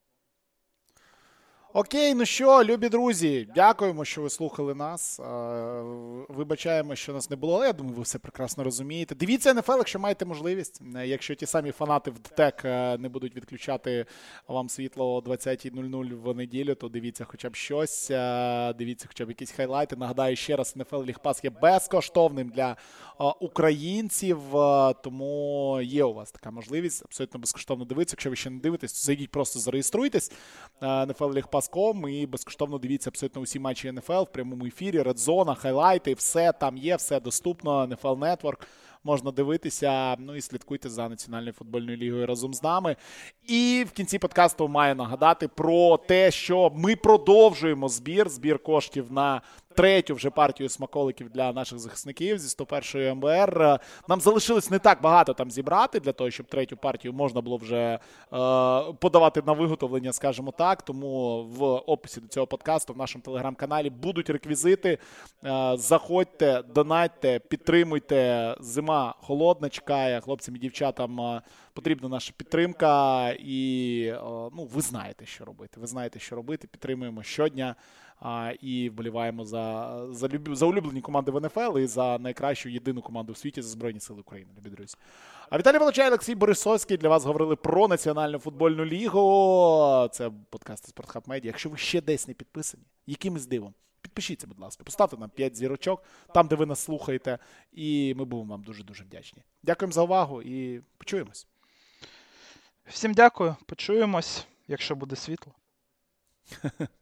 Окей, ну що, любі друзі, дякуємо, що ви слухали нас. Е, Вибачаємо, що нас не було, але я думаю, ви все прекрасно розумієте. Дивіться ен еф ел, якщо маєте можливість. Е, Якщо ті самі фанати в ДТЕК е, не будуть відключати вам світло о двадцятій нуль нуль в неділю, то дивіться хоча б щось, е, дивіться хоча б якісь хайлайти. Нагадаю ще раз, ен еф ел League Pass є безкоштовним для е, українців, е, тому є у вас така можливість абсолютно безкоштовно дивитися. Якщо ви ще не дивитесь, то зайдіть, просто зареєструйтесь. ен еф ел League Pass точка ком і безкоштовно дивіться абсолютно усі матчі ен еф ел в прямому ефірі, редзона, хайлайти, все там є, все доступно, ен еф ел Network. Можна дивитися, ну і слідкуйте за Національною футбольною лігою разом з нами. І в кінці подкасту маю нагадати про те, що ми продовжуємо збір, збір коштів на третю вже партію смаколиків для наших захисників зі сто першої ем бе ер. Нам залишилось не так багато там зібрати, для того, щоб третю партію можна було вже е, подавати на виготовлення, скажімо так. Тому в описі до цього подкасту в нашому телеграм-каналі будуть реквізити. Е, заходьте, донатьте, підтримуйте. Зима холодна чекає, хлопцям і дівчатам е, потрібна наша підтримка. І е, ну, ви знаєте, що робити. Ви знаєте, що робити. Підтримуємо щодня. А, і вболіваємо за, за, люб... за улюблені команди в ен еф ел і за найкращу єдину команду в світі за Збройні Сили України, любі друзі. А Віталій Волочай, Олексій Борисовський для вас говорили про Національну футбольну лігу. Це подкаст «Спортхаб Медіа». Якщо ви ще десь не підписані, якимось дивом, підпишіться, будь ласка, поставте нам п'ять зірочок там, де ви нас слухаєте, і ми будемо вам дуже-дуже вдячні. Дякуємо за увагу і почуємось. Всім дякую, почуємось, якщо буде світло.